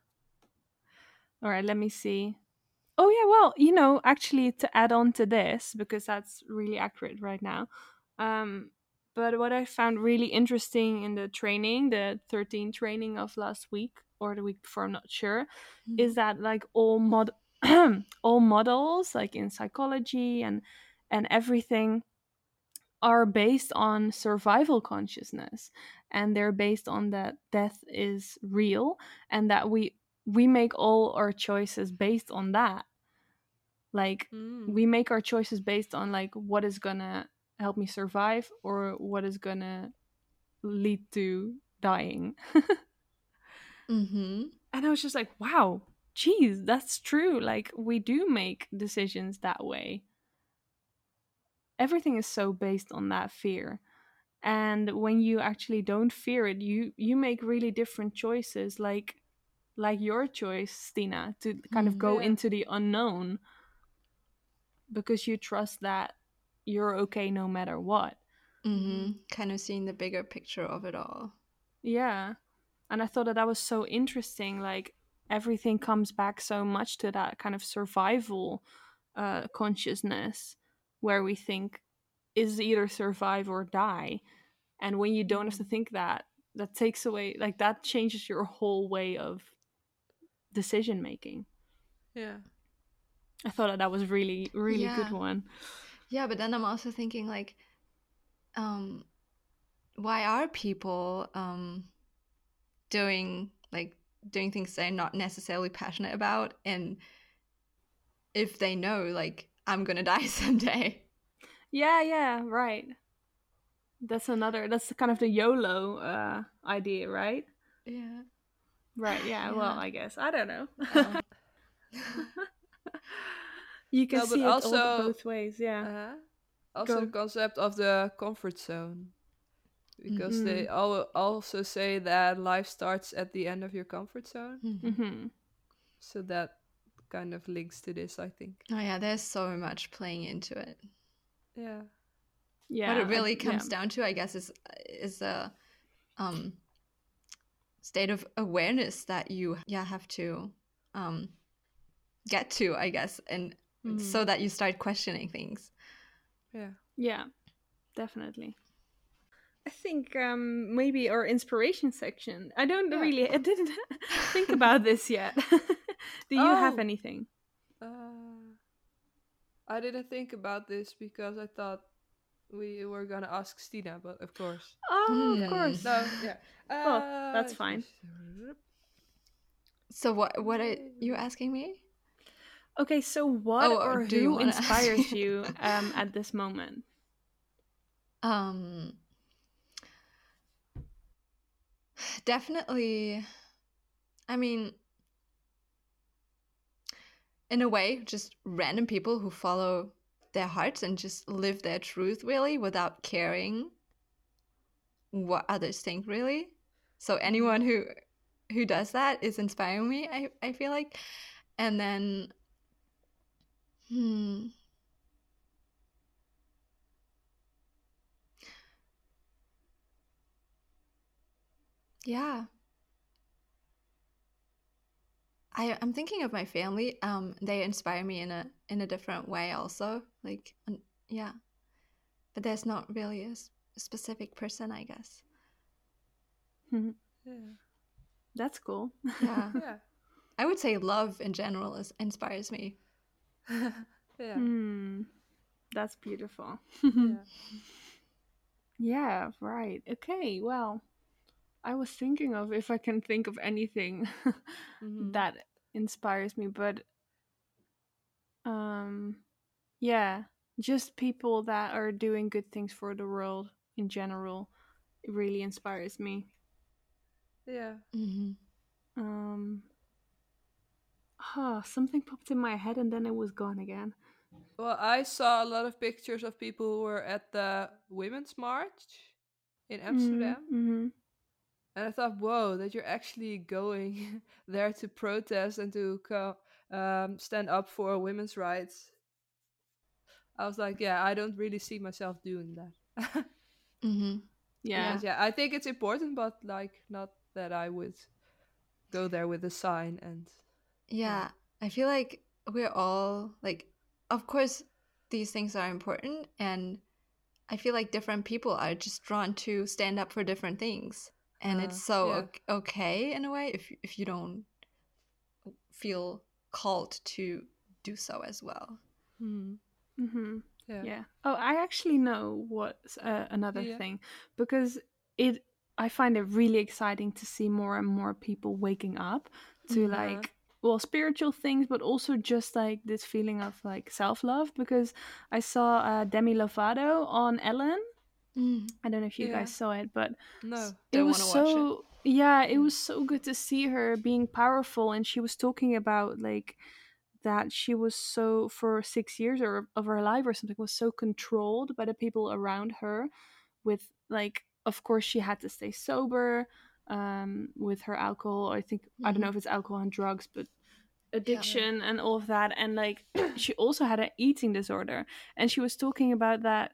All right, let me see. Oh yeah, well, you know, actually to add on to this because that's really accurate right now. Um but what I found really interesting in the training, the thirteen training of last week or the week before, I'm not sure, Mm. is that like all mod all models like in psychology and and everything are based on survival consciousness, and they're based on that death is real and that we we make all our choices based on that. Like Mm. we make our choices based on like what is gonna help me survive or what is gonna lead to dying. Mm-hmm. And I was just like, wow, geez, that's true. Like we do make decisions that way. Everything is so based on that fear. And when you actually don't fear it, you you make really different choices, like like your choice, Stina, to kind of Mm. go Yeah. into the unknown because you trust that you're okay no matter what. Mm-hmm. Kind of seeing the bigger picture of it all. Yeah. And I thought that that was so interesting. Like everything comes back so much to that kind of survival uh, consciousness where we think is either survive or die. And when you don't have to think that, that takes away, like that changes your whole way of decision making. Yeah. I thought that that was really, really Yeah. good one. Yeah, but then I'm also thinking like, um, why are people um doing like doing things they're not necessarily passionate about, and if they know like I'm gonna die someday. Yeah, yeah, right. That's another, that's kind of the YOLO uh, idea, right? Yeah. Right, yeah, Yeah. well, I guess. I don't know. Oh. You can No, but see it all the, also, both ways, yeah. uh, also Go. the concept of the comfort zone, because Mhm. they al- also say that life starts at the end of your comfort zone. Mhm. Mm-hmm. So that kind of links to this, I think. Oh yeah, there's so much playing into it. Yeah. Yeah. What it I- really comes yeah. down to, I guess, is is a um state of awareness that you yeah have to um get to, I guess, and Mhm. so that you start questioning things. Yeah. Yeah, definitely. I think um, maybe our inspiration section. I don't Yeah. really, I didn't think about this yet. Do you have Oh, anything? uh, I didn't think about this because I thought we were gonna ask Stina, but of course, Oh, of yeah. Hmm. course. No, yeah. Well, Uh, that's fine. So what what are you asking me? Okay, so what Oh, or or do you who want to ask inspires me? you um, at this moment? um, definitely. I mean, in a way, just random people who follow their hearts and just live their truth really without caring what others think really. So anyone who who does that is inspiring me, I, I feel like. And then hmm yeah. I, I'm thinking of my family. Um, they inspire me in a in a different way also. Like um, yeah. But there's not really a, s- a specific person, I guess. Mhm. Yeah, That's cool. Yeah. yeah, I would say love in general is, inspires me. yeah, Hmm, that's beautiful. yeah. Yeah, right. Okay, well, I was thinking of if I can think of anything Mm-hmm. that inspires me, but um yeah, just people that are doing good things for the world in general. It really inspires me. Yeah. Hmm. Um huh, something popped in my head and then it was gone again. Well, I saw a lot of pictures of people who were at the Women's March in Mm, Amsterdam. mm-hmm. And I thought, whoa, that you're actually going there to protest and to co- um, stand up for women's rights. I was like, yeah, I don't really see myself doing that. Hmm. Yeah. Because, yeah, I think it's important, but like, not that I would go there with a sign and, yeah. Yeah. I feel like we're all like, of course, these things are important, and I feel like different people are just drawn to stand up for different things, and Uh, it's so yeah. o- okay in a way if if you don't feel called to do so as well. Hmm. Mm-hmm. Yeah. Yeah. Oh, I actually know what's uh, another Yeah. thing because it I find it really exciting to see more and more people waking up to Mm. Uh, like well spiritual things, but also just like this feeling of like self love. Because I saw uh, Demi Lovato on Ellen. Mm. I don't know if you guys yeah. saw it, but s- No. it Don't was want to watch it. so yeah, it Yeah. was so good to see her being powerful, and she was talking about like that she was so for six years or of her life or something was so controlled by the people around her with like of course she had to stay sober um with her alcohol. I think I don't Hmm. know if it's alcohol and drugs, but Yeah. Yeah. addiction and all of that. And like she also had an eating disorder, and she was talking about that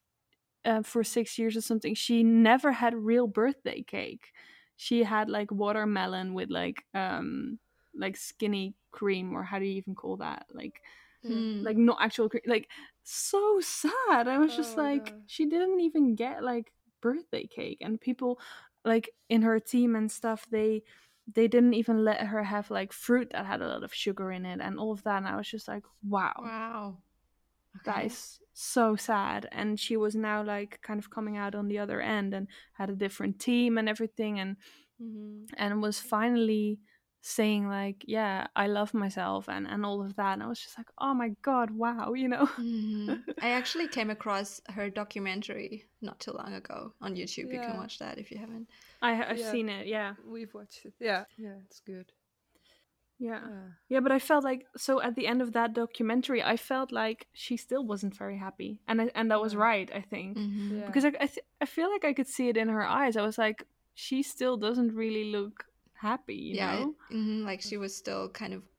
uh, for six years or something. She never had real birthday cake. She had like watermelon with like um like skinny cream, or how do you even call that, like Yeah. Mm. like not actual cre- like so sad. I was Oh just my like god. she didn't even get like birthday cake, and people like in her team and stuff, they they didn't even let her have like fruit that had a lot of sugar in it and all of that. And I was just like, wow, Wow. that Okay. is so sad. And she was now like kind of coming out on the other end and had a different team and everything, and Mm-hmm. and was finally saying like, yeah, I love myself and and all of that. And I was just like, oh my god, wow, you know. Hmm. I actually came across her documentary not too long ago on YouTube. You can Yeah. watch that if you haven't. I I've Yeah. seen it, yeah. We've watched it. Yeah. Yeah. It's good. Yeah. Uh, Yeah, but I felt like so at the end of that documentary, I felt like she still wasn't very happy, and I, and that was no. right, I think, Hmm. Yeah. because I I, th- I feel like I could see it in her eyes. I was like, she still doesn't really look happy, you Yeah. It, know? hmm like she was still kind of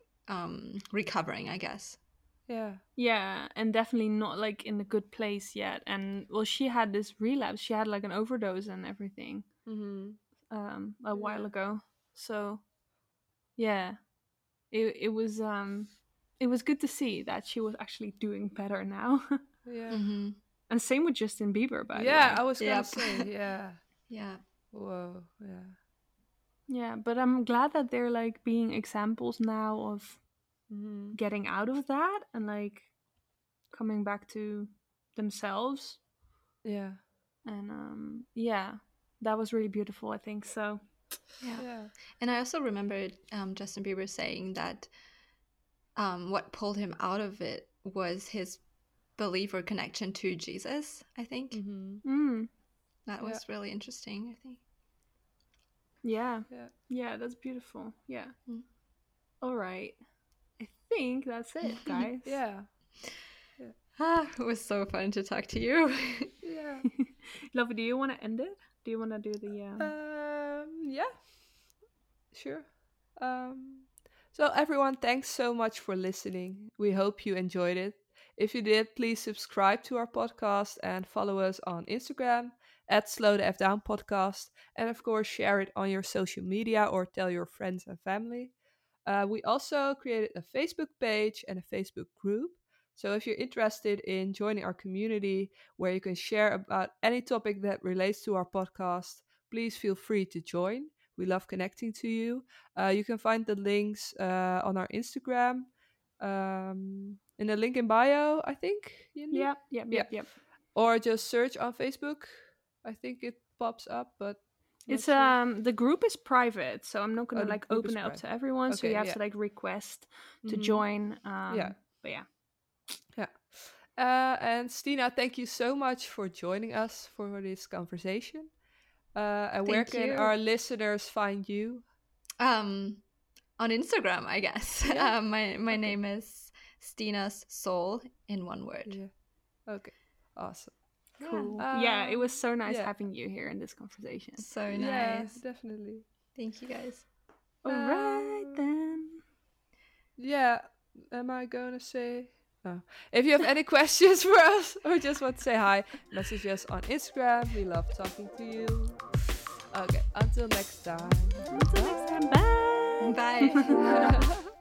um recovering, I guess. Yeah. Yeah, and definitely not like in a good place yet. And well, she had this relapse. She had like an overdose and everything Mm-hmm. um a while Yeah. ago. So yeah, it it was um it was good to see that she was actually doing better now. Yeah. Hmm. And same with Justin Bieber, by the Yeah. way. I was gonna Yep. say. Yeah. Yeah. Whoa. Yeah. Yeah, but I'm glad that they're like being examples now of Mm-hmm. getting out of that and like coming back to themselves. Yeah. And um yeah, that was really beautiful, I think. So Yeah. Yeah. And I also remember um, Justin Bieber saying that um, what pulled him out of it was his belief or connection to Jesus, I think. Mm-hmm. mm, That Yeah. was really interesting, I think. yeah. Yeah. Yeah, that's beautiful. Yeah. Mm. All right. I think that's it, guys. Yeah. Ah, it was so fun to talk to you. Yeah. Lovey, do you want to end it? Do you want to do the um Um, yeah, sure. Um, so everyone, thanks so much for listening. We hope you enjoyed it. If you did, please subscribe to our podcast and follow us on Instagram at Slow the F Down Podcast. And of course, share it on your social media or tell your friends and family. Uh, we also created a Facebook page and a Facebook group. So if you're interested in joining our community where you can share about any topic that relates to our podcast, please feel free to join. We love connecting to you. Uh, you can find the links uh, on our Instagram, um, in the link in bio, I think, Yindi? Yep, yep, Yeah. yep, yep. Or just search on Facebook. I think it pops up, but not It's sure. um the group is private, so I'm not Oh, gonna the like group is open it up private. to everyone. So Okay, you have yeah. to like request to Mhm. join. Um Yeah. but yeah. Yeah. Uh, and Stina, thank you so much for joining us for this conversation. Uh, and where Thank can you. our listeners find you? Um, on Instagram, I guess. Yeah. Um, my my Okay. name is Stina's Soul in one word. Yeah. Okay. Awesome. Cool. Yeah. Yeah, it was Um, so nice yeah. having you here in this conversation. So Yeah, nice. definitely. Thank you guys. All right Um, then. Yeah. Am I going to say? Oh. If you have any questions for us or just want to say hi, message us on Instagram. We love talking to you. Okay. Until next time. Until next time. Bye. Bye. Bye.